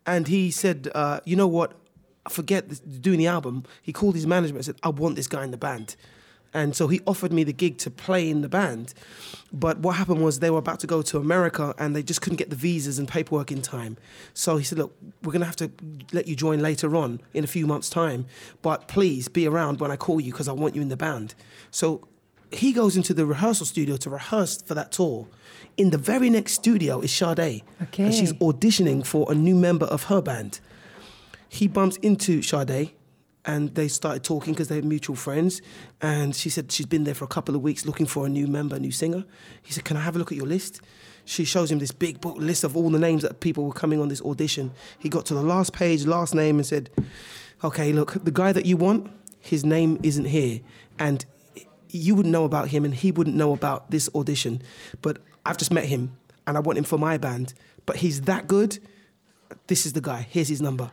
and he said, uh, "You know what? Forget this, doing the album." He called his management and said, "I want this guy in the band." And so he offered me the gig to play in the band. But what happened was they were about to go to America and they just couldn't get the visas and paperwork in time. So he said, "Look, we're going to have to let you join later on in a few months' time. But please be around when I call you because I want you in the band." So he goes into the rehearsal studio to rehearse for that tour. In the very next studio is Sade. Okay. And she's auditioning for a new member of her band. He bumps into Sade. And they started talking because they're mutual friends. And she said she's been there for a couple of weeks looking for a new member, a new singer. He said, "Can I have a look at your list?" She shows him this big book list of all the names that people were coming on this audition. He got to the last page, last name, and said, "Okay, look, the guy that you want, his name isn't here. And you wouldn't know about him and he wouldn't know about this audition. But I've just met him and I want him for my band. But he's that good. This is the guy. Here's his number."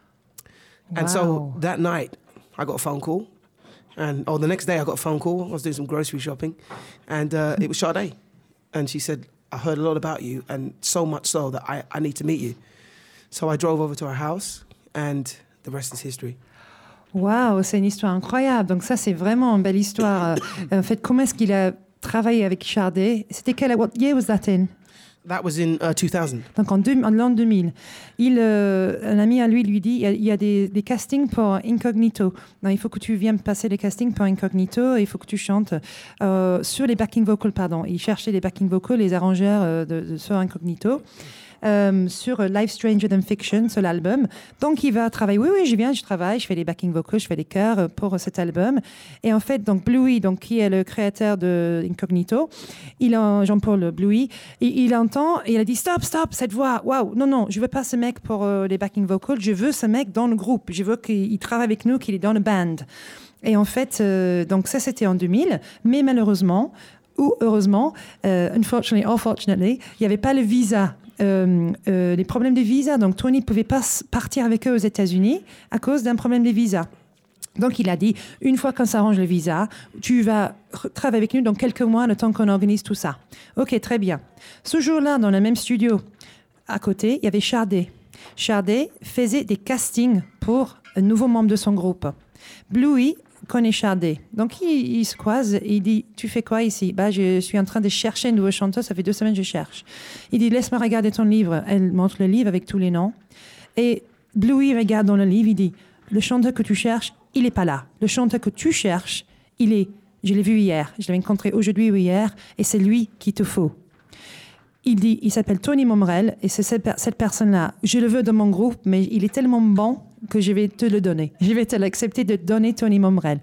And so Wow. that night, I got a phone call. And, oh, the next day I got a phone call. I was doing some grocery shopping. And uh, it was Sade. And she said, "I heard a lot about you, and so much so that I, I need to meet you." So I drove over to her house, and the rest is history. Waouh, c'est une histoire incroyable. Donc ça, c'est vraiment une belle histoire. Euh, en fait, comment est-ce qu'il a travaillé avec Sade? C'était quelle what year was that in? That was in uh, two thousand. Donc en, deux, en l'an deux mille, il, euh, un ami à lui lui dit il y a, il y a des, des castings pour Incognito. Non, il faut que tu viennes passer les castings pour Incognito et il faut que tu chantes euh, sur les backing vocals. Pardon. Il cherchait les backing vocals, les arrangeurs euh, de, de, sur Incognito. Euh, sur Life Stranger Than Fiction, sur l'album. Donc, il va travailler. Oui, oui, je viens, je travaille, je fais les backing vocals, je fais les chœurs pour cet album. Et en fait, donc, Bluey, donc, qui est le créateur de Incognito, il en, Jean-Paul Bluey, il, il entend et il a dit stop, stop, cette voix, waouh, non, non, je veux pas ce mec pour euh, les backing vocals, je veux ce mec dans le groupe, je veux qu'il travaille avec nous, qu'il est dans le band. Et en fait, euh, donc, ça, c'était en deux mille, mais malheureusement, ou heureusement, euh, unfortunately, unfortunately, il n'y avait pas le visa. Euh, euh, les problèmes de visa. Donc, Tony ne pouvait pas partir avec eux aux États-Unis à cause d'un problème de visa. Donc, il a dit, une fois qu'on s'arrange le visa, tu vas travailler avec nous dans quelques mois, le temps qu'on organise tout ça. OK, très bien. Ce jour-là, dans le même studio, à côté, il y avait Sade. Sade faisait des castings pour un nouveau membre de son groupe. Bluey connaît Sade. Donc, il, il se croise et il dit « Tu fais quoi ici ?» Bah, je suis en train de chercher une nouvelle chanteuse. Ça fait deux semaines que je cherche. Il dit « Laisse-moi regarder ton livre. » Elle montre le livre avec tous les noms. Et Bluey regarde dans le livre. Il dit « Le chanteur que tu cherches, il n'est pas là. Le chanteur que tu cherches, il est... Je l'ai vu hier. Je l'ai rencontré aujourd'hui ou hier. Et c'est lui qu'il te faut. » Il dit, il s'appelle Tony Momrel et c'est cette, cette personne-là. Je le veux dans mon groupe, mais il est tellement bon que je vais te le donner. Je vais te l'accepter de donner Tony Momrel.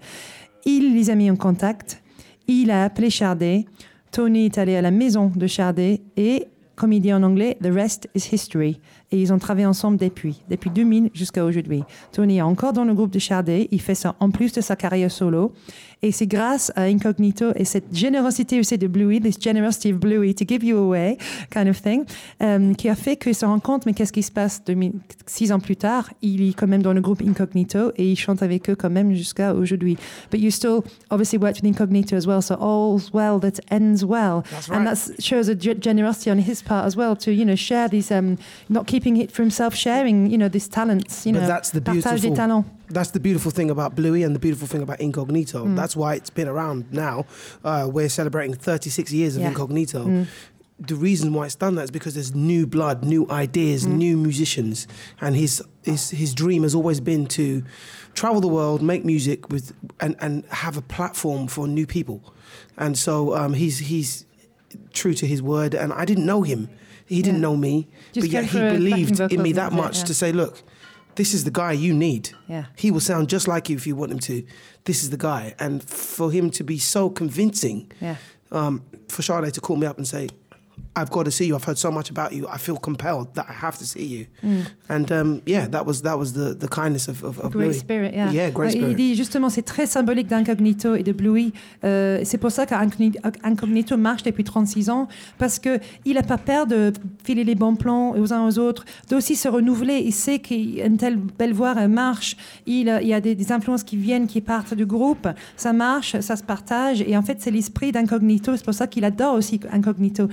Il les a mis en contact. Il a appelé Sade. Tony est allé à la maison de Sade et, comme il dit en anglais, the rest is history. Et ils ont travaillé ensemble depuis, depuis deux mille jusqu'à aujourd'hui. Tony est encore dans le groupe de Sade. Il fait ça en plus de sa carrière solo. Et c'est grâce à Incognito et cette générosité aussi de Bluey, this generosity of Bluey to give you away, kind of thing, um, qui a fait qu'ils se rendent compte, mais qu'est-ce qui se passe deux mille, six ans plus tard? Il est quand même dans le groupe Incognito et il chante avec eux quand même jusqu'à aujourd'hui. But you still obviously worked with Incognito as well, so all's well that ends well. That's right. And that shows a ge- generosity on his part as well to, you know, share these, um, not keeping it for himself, sharing, you know, these talents, you But know, that's the partage des beautiful- talents. That's the beautiful thing about Bluey and the beautiful thing about Incognito. Mm. That's why it's been around now. Uh, we're celebrating thirty-six years of Yeah. Incognito. Mm. The reason why it's done that is because there's new blood, new ideas, Mm. new musicians. And his, his his dream has always been to travel the world, make music with and, and have a platform for new people. And so um, he's he's true to his word. And I didn't know him. He didn't Yeah. know me. Just but yet came he for a backing believed in me vocals that and much yeah. to say, look, this is the guy you need. Yeah. He will sound just like you if you want him to. This is the guy. And for him to be so convincing, Yeah. um, for Sade to call me up and say, I've got to see you. I've heard so much about you. I feel compelled that I have to see you. Mm. And um, yeah, that was that was the, the kindness of, of, of Great Bluey. spirit, yeah. Yeah, great Ouais, spirit. Il dit justement, c'est très symbolique d'Incognito et de Bluey. Euh, c'est pour ça qu'Incognito marche depuis trente-six ans, parce qu'il n'a pas peur de filer les bons plans aux uns aux autres, d'aussi se renouveler. Il sait qu'une telle belle voix elle marche. Il, il y a des, des influences qui viennent, qui partent du groupe. Ça marche, ça se partage. Et en fait, c'est l'esprit d'Incognito. C'est pour ça qu'il adore aussi Incognito. Et c'est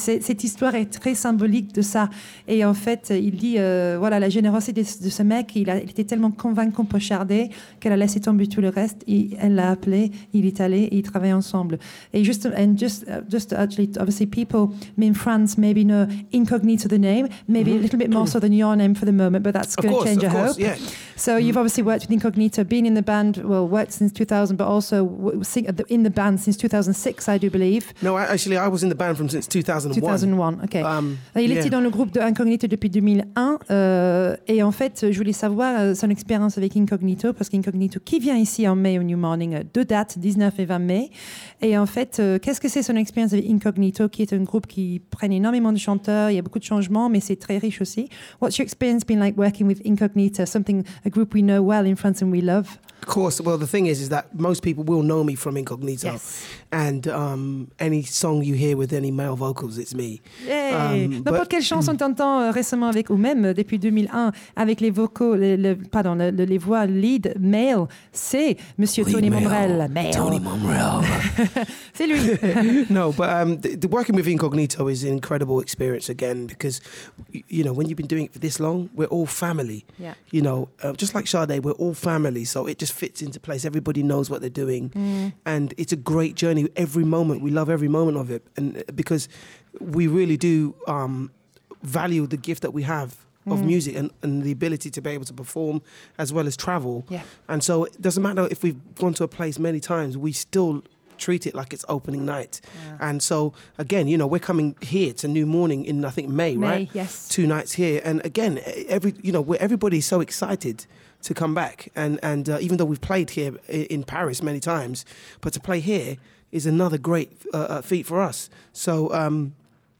c'est- cette histoire est très symbolique de ça. Et en fait, il dit, euh, voilà, la générosité de, de ce mec, il, a, il était tellement convaincant pour Sade qu'elle a laissé tomber tout le reste. Et elle l'a appelé, il est allé et ils travaillent ensemble. Et just, and just, uh, just actually, obviously, people in France maybe know Incognito the name, maybe a little bit more so than your name for the moment, but that's Of going to course, change, of I course, hope. yeah. So you've obviously worked with Incognito, been in the band, well, worked since two thousand, but also w- sing, in the band since two thousand six, I do believe. No, I, actually, I was in the band from since two thousand one. deux mille un, ok. Um, Il yeah. était dans le groupe de Incognito depuis deux mille un euh, et en fait, je voulais savoir euh, son expérience avec Incognito parce qu'Incognito qui vient ici en mai au New Morning, euh, deux dates, dix-neuf et vingt mai. Et en fait, euh, qu'est-ce que c'est son expérience avec Incognito qui est un groupe qui prenne énormément de chanteurs, il y a beaucoup de changements mais c'est très riche aussi. What's your experience been like working with Incognito, something, a group we know well in France and we love? Of course. Well, the thing is, is that most people will know me from Incognito, Yes. and um, any song you hear with any male vocals, it's me. Yay. Um, N'importe but- quelle chanson t'entends euh, récemment avec, ou même euh, depuis deux mille un, avec les vocaux, le, le- pardon, le- le- les voix lead male, c'est Monsieur Tony Momrel. Male. Momrel. C'est lui. No, but um, the, the working with Incognito is an incredible experience again because, y- you know, when you've been doing it for this long, we're all family. Yeah. You know, uh, just like Sade, we're all family, so it just fits into place. Everybody knows what they're doing, and it's a great journey. Every moment, we love every moment of it, and uh, because we really do um, value the gift that we have of music and, and the ability to be able to perform as well as travel. Yeah. And so it doesn't matter if we've gone to a place many times, we still treat it like it's opening night. And so again, you know, we're coming here to New Morning in I think May, May, right? yes. Two nights here, and again, every you know, we're, everybody's so excited to come back, and and uh, even though we've played here i- in Paris many times, but to play here is another great uh, uh, feat for us. So. Um,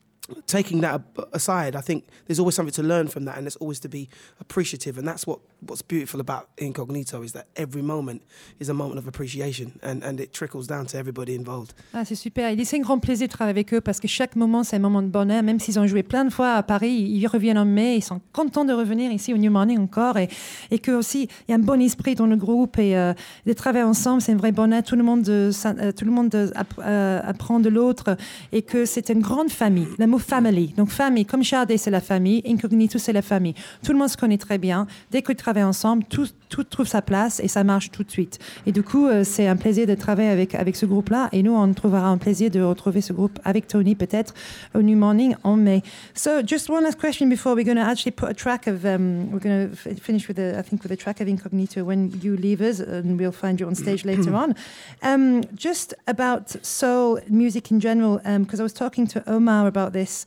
Taking that ab- aside, I think there's always something to learn from that, and there's always to be appreciative, and that's what, what's beautiful about Incognito is that every moment is a moment of appreciation, and, and it trickles down to everybody involved. Ah, c'est super. Il dit c'est un grand plaisir de travailler avec eux parce que chaque moment c'est un moment de bonheur. Même s'ils ont joué plein de fois à Paris, ils reviennent en mai. Ils sont contents de revenir ici au New Morning encore et, et que aussi il y a un bon esprit dans le groupe et euh, de travailler ensemble c'est un vrai bonheur. Tout le monde, euh, ça- euh, tout le monde euh, app- euh, apprend de l'autre et que c'est une grande famille. Le mot family. Donc famille, comme Sade c'est la famille, Incognito c'est la famille. Tout le monde se connaît très bien. Dès qu'ils travaillent ensemble, tout, tout trouve sa place et ça marche tout de suite. Et du coup, euh, c'est un plaisir de travailler avec, avec ce groupe-là. Et nous, on trouvera un plaisir de retrouver ce groupe avec Tony peut-être au New Morning en mai. So, just one last question before we're going to actually put a track of, um, we're going to f- finish with, a, I think, with a track of Incognito when you leave us, and we'll find you on stage later on. Um, just about soul music in general, because I was talking to Omar about this.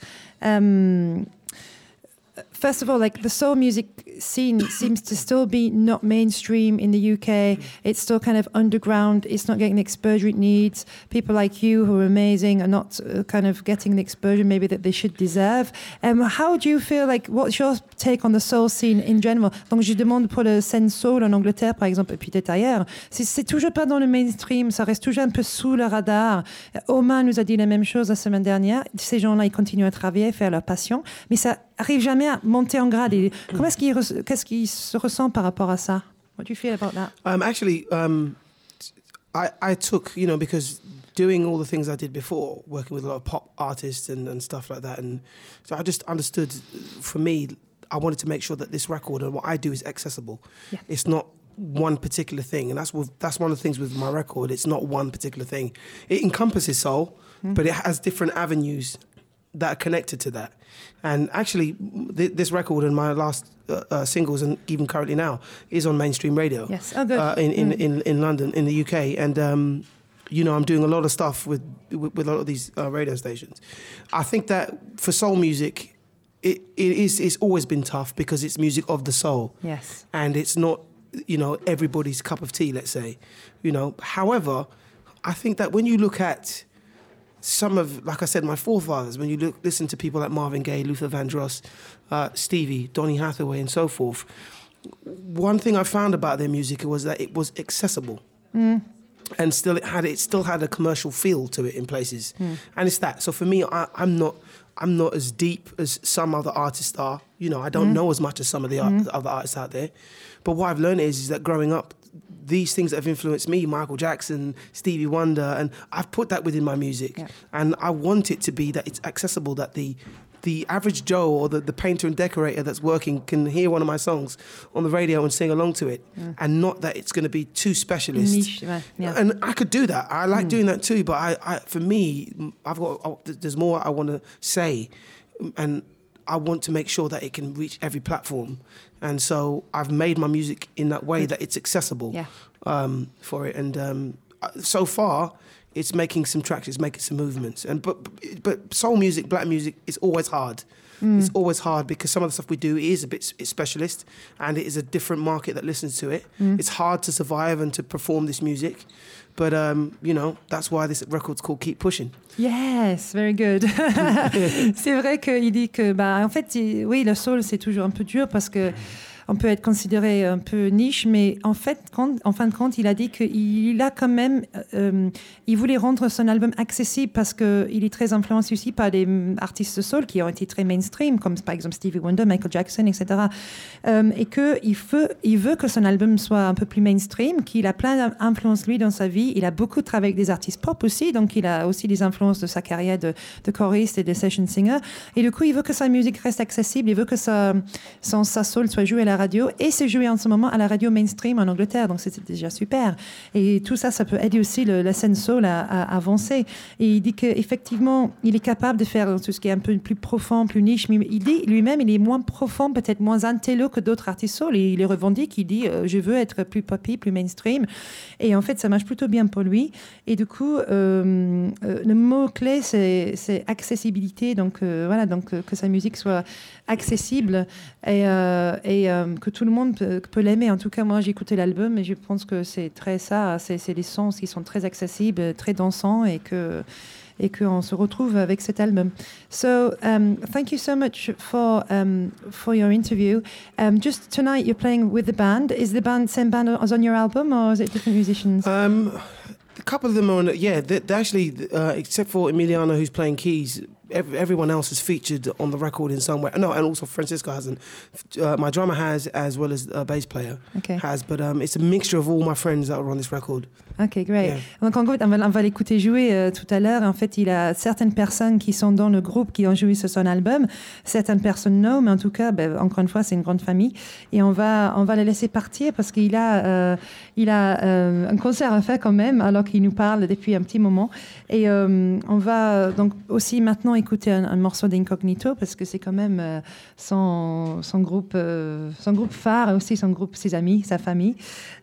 Um, First of all, like the soul music scene seems to still be not mainstream in the U K. It's still kind of underground. It's not getting the exposure it needs. People like you, who are amazing, are not uh, kind of getting the exposure maybe that they should deserve. Um, how do you feel like? What's your take on the soul scene in general? Donc, je demande pour le scène soul en Angleterre, par exemple, et puis peut-être ailleurs. C'est, c'est toujours pas dans le mainstream. Ça reste toujours un peu sous le radar. Omar nous a dit la même chose la semaine dernière. Ces gens-là, ils continuent à travailler, faire leur passion, mais ça arrive jamais à monter en grade. Et comment est-ce qu'il, re- qu'est-ce qu'il se ressent par rapport à ça? What do you feel about that? Um, actually, um, I, I took, you know, because doing all the things I did before, working with a lot of pop artists and, and stuff like that, and so I just understood, for me, I wanted to make sure that this record and what I do is accessible. Yeah. It's not one particular thing, and that's with, that's one of the things with my record. It's not one particular thing. It encompasses soul, but it has different avenues that are connected to that. And actually, th- this record and my last uh, uh, singles, and even currently now, is on mainstream radio. Yes. Oh, good. Uh, in, in, Mm. in, in London, in the U K. And, um, you know, I'm doing a lot of stuff with, with, with a lot of these uh, radio stations. I think that for soul music, it, it is, it's always been tough because it's music of the soul. Yes. And it's not, you know, everybody's cup of tea, let's say. You know, however, I think that when you look at some of, like I said, my forefathers, when you look, listen to people like Marvin Gaye, Luther Vandross, uh, Stevie, Donny Hathaway, and so forth, one thing I found about their music was that it was accessible, mm. and still it had it still had a commercial feel to it in places, mm. and it's that. So for me, I, I'm not I'm not as deep as some other artists are. You know, I don't mm. know as much as some of the, mm. art, other artists out there. But what I've learned is, is that growing up, these things that have influenced me, Michael Jackson, Stevie Wonder, and I've put that within my music. Yeah. And I want it to be that it's accessible, that the the average Joe or the, the painter and decorator that's working can hear one of my songs on the radio and sing along to it, Mm. and not that it's going to be too specialist. Niche, ouais, yeah. And I could do that. I like doing that too. But I, I, for me, I've got I, there's more I want to say, and I want to make sure that it can reach every platform. And so I've made my music in that way that it's accessible Yeah. um, for it. And um, so far, it's making some tracks, it's making some movements. And but but soul music, black music, is always hard. Mm. It's always hard because some of the stuff we do is a bit it's specialist, and it is a different market that listens to it. Mm. It's hard to survive and to perform this music. But, um, you know, that's why this record's called Keep Pushing. Yes, very good. C'est vrai qu'il dit que, bah, en fait, il- oui, le soul, c'est toujours un peu dur parce que on peut être considéré un peu niche, mais en fait, quand, en fin de compte, il a dit qu'il a quand même, euh, il voulait rendre son album accessible parce qu'il est très influencé aussi par des mm, artistes de soul qui ont été très mainstream, comme par exemple Stevie Wonder, Michael Jackson, et cetera. Euh, et qu'il veut, il veut que son album soit un peu plus mainstream, qu'il a plein d'influences lui dans sa vie. Il a beaucoup travaillé avec des artistes pop aussi, donc il a aussi des influences de sa carrière de, de choriste et de session singer. Et du coup, il veut que sa musique reste accessible, il veut que sa, son, sa soul soit jouée à la radio, et c'est joué en ce moment à la radio mainstream en Angleterre, donc c'est déjà super. Et tout ça, ça peut aider aussi le, la scène soul à, à avancer. Et il dit qu'effectivement, il est capable de faire tout ce qui est un peu plus profond, plus niche, mais il dit lui-même, il est moins profond, peut-être moins intello que d'autres artistes soul, et il les revendique, il dit euh, je veux être plus poppy, plus mainstream, et en fait ça marche plutôt bien pour lui. Et du coup, euh, euh, le mot clé c'est, c'est accessibilité, donc euh, voilà, donc euh, que sa musique soit accessible et, euh, et euh, que tout le monde peut, peut l'aimer. En tout cas, moi j'ai écouté l'album et je pense que c'est très ça, c'est, c'est des sons qui sont très accessibles, très dansants, et que et qu'on se retrouve avec cet album. So, um, thank you so much for um, for your interview. Um, just tonight, you're playing with the band. Is the band same band as on your album, or is it different musicians? Um, a couple of them are on it, yeah. They, they actually, uh, except for Emiliano, who's playing keys, every, everyone else is featured on the record in some way. No, and also Francisco hasn't. Uh, my drummer has, as well as a bass player Okay. has. But um, it's a mixture of all my friends that are on this record. Ok, great. Yeah. Donc en gros, on va, on va l'écouter jouer euh, tout à l'heure. En fait, il a certaines personnes qui sont dans le groupe qui ont joué sur son album. Certaines personnes non, mais en tout cas, ben, encore une fois, c'est une grande famille. Et on va, on va les laisser partir parce qu'il a, euh, il a euh, un concert à faire quand même, alors qu'il nous parle depuis un petit moment. Et euh, on va donc aussi maintenant écouter un, un morceau d'Incognito parce que c'est quand même euh, son, son groupe, euh, son groupe phare, et aussi son groupe, ses amis, sa famille.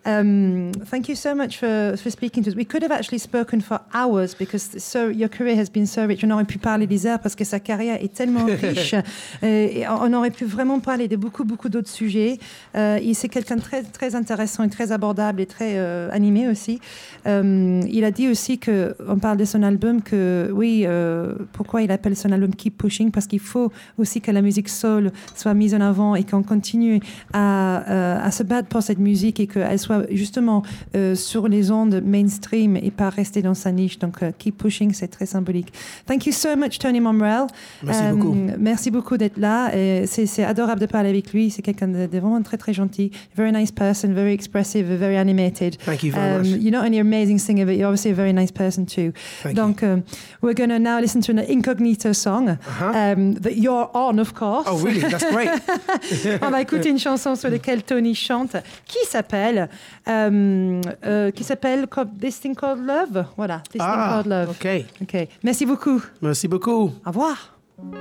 Um, thank you so much for, for speaking to us. We could have actually spoken for hours because so your career has been so rich. On aurait pu parler des heures parce que sa carrière est tellement riche. Euh, et on aurait pu vraiment parler de beaucoup, beaucoup d'autres sujets. Euh, et c'est quelqu'un de très, très intéressant et très abordable et très euh, animé aussi. Euh, il a dit aussi que, on parle de son album, que oui, euh, pourquoi il appelle son album Keep Pushing, parce qu'il faut aussi que la musique soul soit mise en avant et qu'on continue à, euh, à se battre pour cette musique et qu'elle soit justement euh, sur les ondes mainstream et pas rester dans sa niche. Donc, uh, Keep Pushing, c'est très symbolique. Thank you so much, Tony Momrelle. Merci Euh, beaucoup. Merci beaucoup d'être là. Et c'est, c'est adorable de parler avec lui. C'est quelqu'un de, de vraiment très, très gentil. Very nice person, very expressive, very animated. Thank you very Um, much. You're not only an amazing singer, but you're obviously a very nice person too. Thank Donc, um, we're going to now listen to an Incognito song Uh-huh. um, that you're on, of course. Oh, really? That's great. On va écouter une chanson sur laquelle Tony chante, qui s'appelle, euh, euh, qui s'appelle Co- This Thing Called Love. Voilà, This Thing Ah, Called Love. OK. Ok. Merci beaucoup. Merci beaucoup. Au revoir.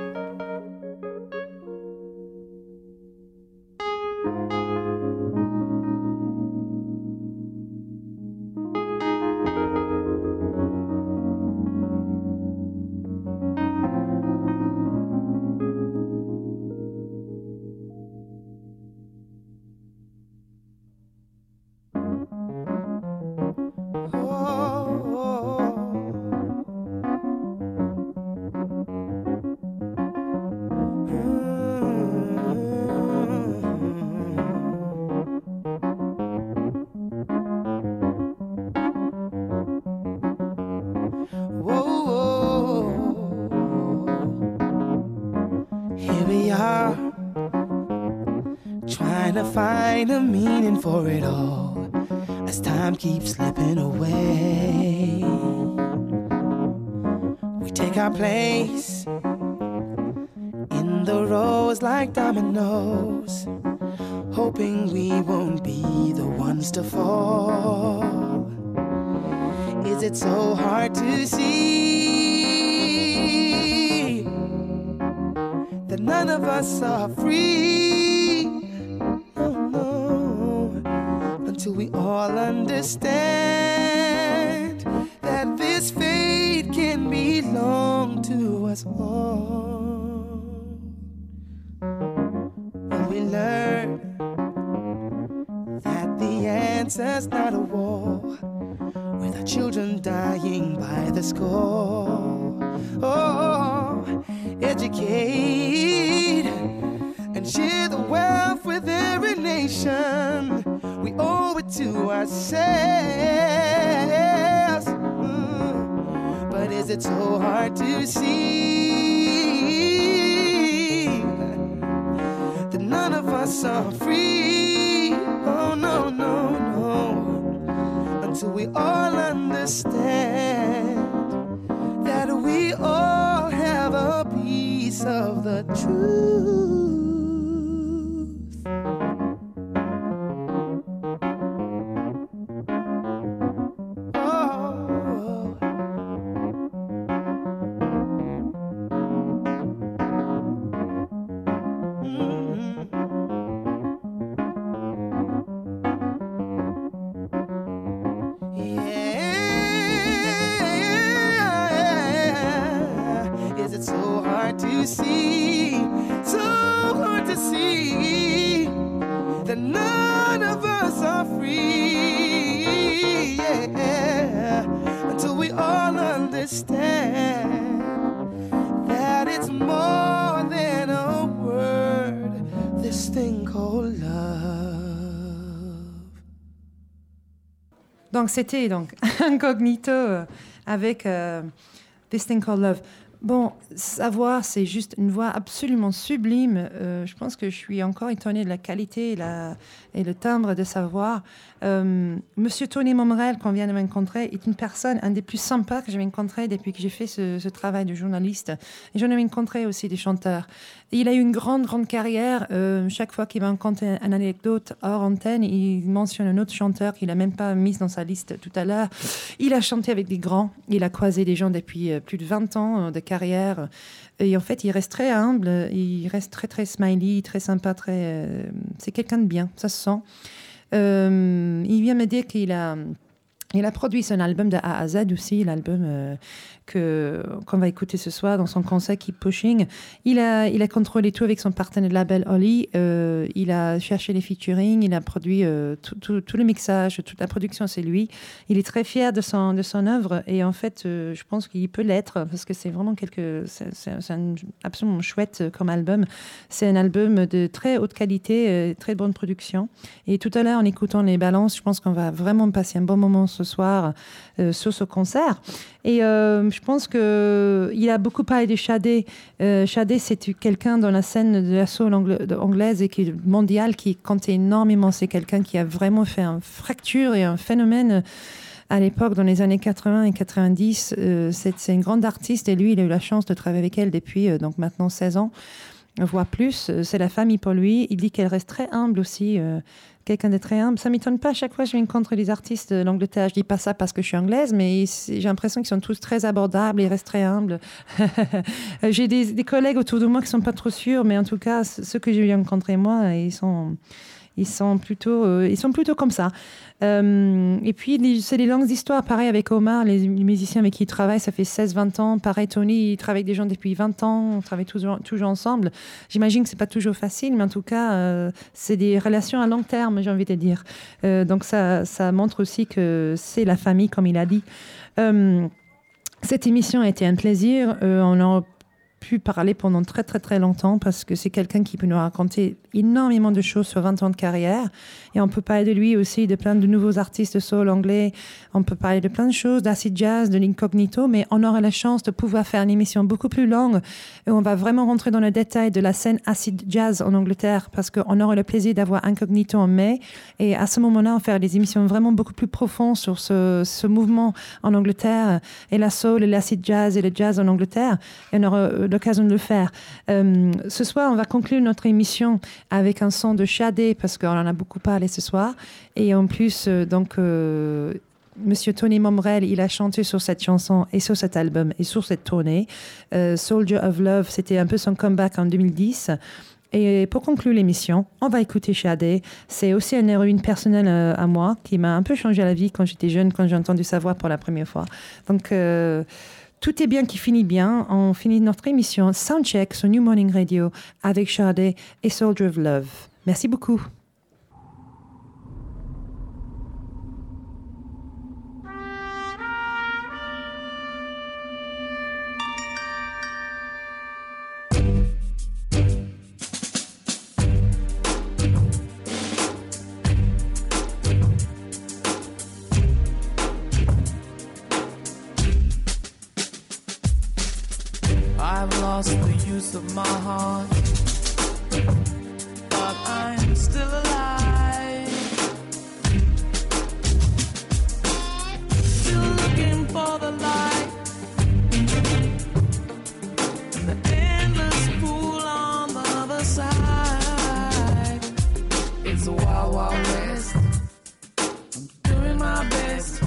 Here we are, trying to find a meaning for it all. as time keeps slipping away. We take our place in the rows like dominoes, hoping we won't be the ones to fall. Is it so hard to see that none of us are free? No, no, until we all understand that this fate can belong to us all. When we learn that the answer's not a war, with our children dying by the score. Oh, educate and share the wealth with every nation. We owe it to ourselves. Mm. But is it so hard to see that none of us are free? Oh, no, no, no. Until we all understand that we all have a piece of the truth. Oh. Mm-hmm. To see, so hard to see that none of us are free, yeah, until we all understand that it's more than a word, this thing called love. Donc c'était donc Incognito euh, avec euh, This Thing Called Love. Bon, sa voix, c'est juste une voix absolument sublime. Euh, je pense que je suis encore étonnée de la qualité et, la, et le timbre de sa voix. Euh, Monsieur Tony Momrel, qu'on vient de rencontrer, est une personne, un des plus sympas que j'ai rencontré depuis que j'ai fait ce, ce travail de journaliste. Et j'en ai rencontré aussi des chanteurs. Et il a eu une grande, grande carrière. Euh, chaque fois qu'il va raconter une anecdote hors antenne, il mentionne un autre chanteur qu'il n'a même pas mis dans sa liste tout à l'heure. Il a chanté avec des grands. Il a croisé des gens depuis plus de vingt ans de carrière. Et en fait, il reste très humble. Il reste très, très smiley, très sympa. Très, euh, c'est quelqu'un de bien, ça se sent. Euh, il vient me dire qu'il a... Il a produit son album de A à Z aussi, l'album euh, que, qu'on va écouter ce soir dans son concert Keep Pushing. Il a, il a contrôlé tout avec son partenaire de label Oli. Euh, il a cherché les featuring, il a produit euh, tout, tout, tout le mixage, toute la production, c'est lui. Il est très fier de son, de son œuvre et en fait, euh, je pense qu'il peut l'être parce que c'est vraiment quelque, c'est, c'est, c'est un, absolument chouette comme album. C'est un album de très haute qualité, euh, très bonne production. Et tout à l'heure, en écoutant les balances, je pense qu'on va vraiment passer un bon moment ce soir euh, sur ce concert. Et euh, je pense qu'il a beaucoup parlé de Sade. Euh, Sade, c'est quelqu'un dans la scène de la soul angla- anglaise et qui est mondiale, qui comptait énormément. C'est quelqu'un qui a vraiment fait une fracture et un phénomène à l'époque, dans les années quatre-vingts et quatre-vingt-dix. Euh, c'est, c'est une grande artiste et lui, il a eu la chance de travailler avec elle depuis euh, donc maintenant seize ans, voire plus. C'est la famille pour lui. Il dit qu'elle reste très humble aussi. Euh, quelqu'un de très humble. Ça ne m'étonne pas, à chaque fois que je rencontre des artistes de l'Angleterre, je ne dis pas ça parce que je suis anglaise, mais j'ai l'impression qu'ils sont tous très abordables, ils restent très humbles. J'ai des, des collègues autour de moi qui ne sont pas trop sûrs, mais en tout cas, ceux que j'ai rencontrés moi, ils sont... Ils sont plutôt, euh, ils sont plutôt comme ça. Euh, et puis, les, c'est des longues histoires. Pareil avec Omar, les, les musiciens avec qui il travaille, ça fait seize vingt ans. Pareil, Tony, il travaille avec des gens depuis vingt ans. On travaille toujours, toujours ensemble. J'imagine que ce n'est pas toujours facile, mais en tout cas, euh, c'est des relations à long terme, j'ai envie de dire. Euh, donc, ça, ça montre aussi que c'est la famille, comme il a dit. Euh, cette émission a été un plaisir. Euh, on a pu parler pendant très très très longtemps parce que c'est quelqu'un qui peut nous raconter énormément de choses sur vingt ans de carrière. Et on peut parler de lui aussi, de plein de nouveaux artistes de soul anglais. On peut parler de plein de choses, d'acid jazz, de l'incognito, mais on aura la chance de pouvoir faire une émission beaucoup plus longue où on va vraiment rentrer dans le détail de la scène acid jazz en Angleterre, parce qu'on aura le plaisir d'avoir Incognito en mai. Et à ce moment-là, on va faire des émissions vraiment beaucoup plus profondes sur ce, ce mouvement en Angleterre, et la soul, et l'acid jazz, et le jazz en Angleterre. Et on aura l'occasion de le faire. Euh, ce soir, on va conclure notre émission avec un son de Shadé, parce qu'on en a beaucoup parlé ce soir. Et en plus, euh, donc, euh, Monsieur Tony Momrelle, il a chanté sur cette chanson et sur cet album et sur cette tournée. Euh, Soldier of Love, c'était un peu son comeback en deux mille dix. Et pour conclure l'émission, on va écouter Shadé. C'est aussi une héroïne personnelle euh, à moi qui m'a un peu changé la vie quand j'étais jeune, quand j'ai entendu sa voix pour la première fois. Donc, euh, tout est bien qui finit bien. On finit notre émission Soundcheck sur New Morning Radio avec Shadé et Soldier of Love. Merci beaucoup. I've lost the use of my heart, but I'm still alive. Still looking for the light in the endless pool on the other side. It's a wild, wild west. I'm doing my best.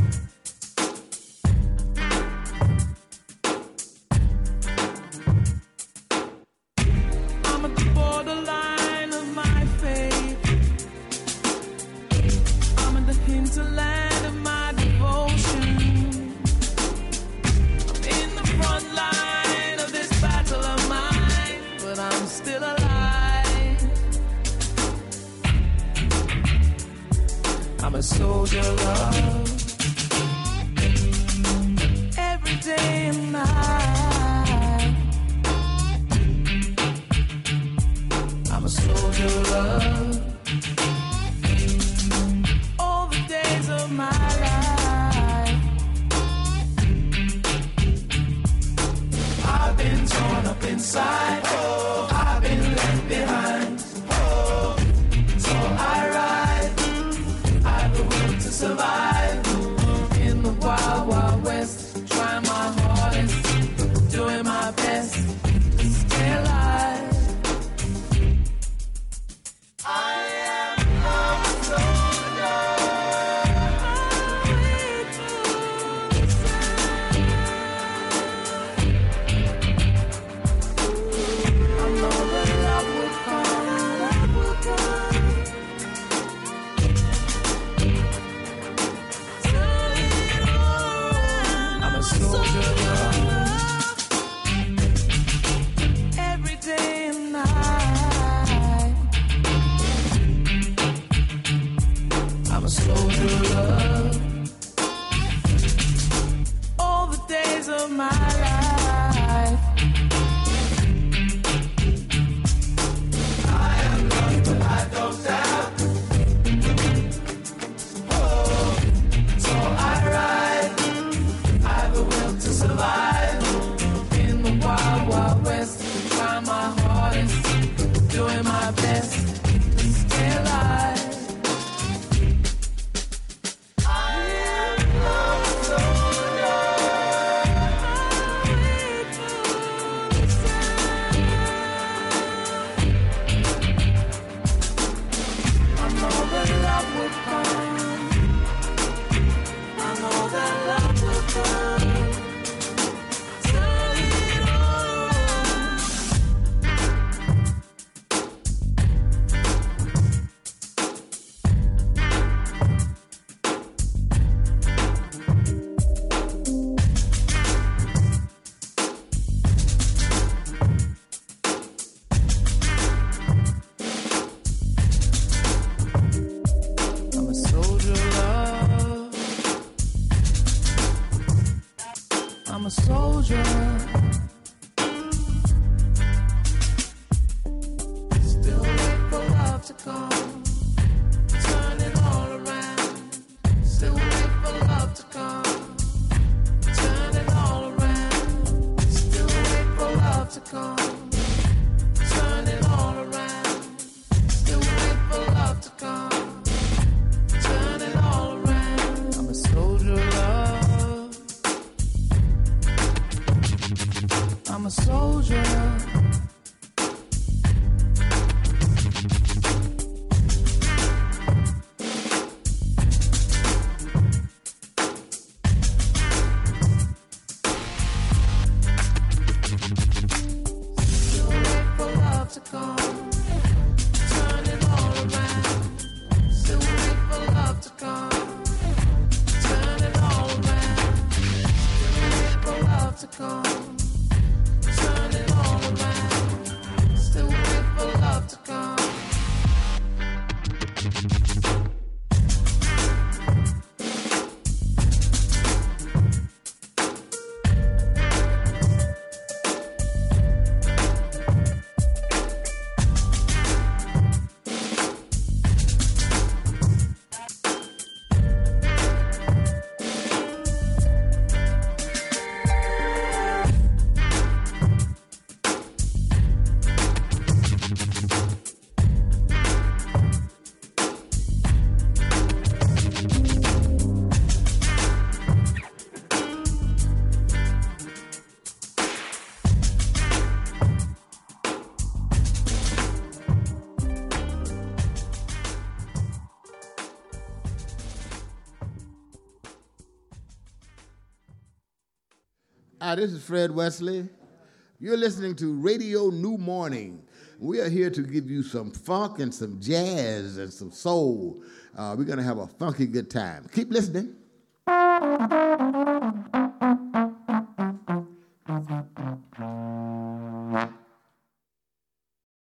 Hinterland of my devotion. I'm in the front line of this battle of mine, but I'm still alive. I'm a soldier of love, every day and night. I'm a soldier of love, of my life. I've been torn up inside, oh, I've been left behind, oh, so I ride, I've the will to survive, in the wild, wild west, trying my hardest, doing my best to stay alive. I am lost, so soldier. Still wait for life. to come. Turn it all around. Still wait for love to come. Turn it all around. Still wait for love to come. Turn it all around. Still wait for love to come. Turn it all around. I'm a soldier of love. I'm a soldier of love. To come, turn it all around. Still wait for love to come. Turn it all around. Still wait for love to come. Turn it all around. Still wait for love to come. Hi, this is Fred Wesley. You're listening to Radio New Morning. We are here to give you some funk and some jazz and some soul. Uh, we're going to have a funky good time. Keep listening.